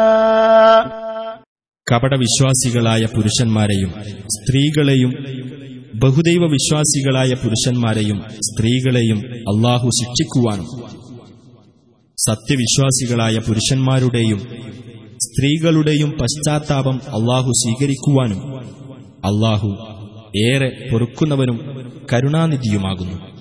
കപടവിശ്വാസികളായ പുരുഷന്മാരെയും സ്ത്രീകളെയും ബഹുദൈവ വിശ്വാസികളായ പുരുഷന്മാരെയും സ്ത്രീകളെയും അല്ലാഹു ശിക്ഷിക്കുവാനും സത്യവിശ്വാസികളായ പുരുഷന്മാരുടെയും സ്ത്രീകളുടെയും പശ്ചാത്താപം അല്ലാഹു സ്വീകരിക്കുവാനും അല്ലാഹു ഏറെ പൊറുക്കുന്നവനും കരുണാനിധിയുമാകുന്നു.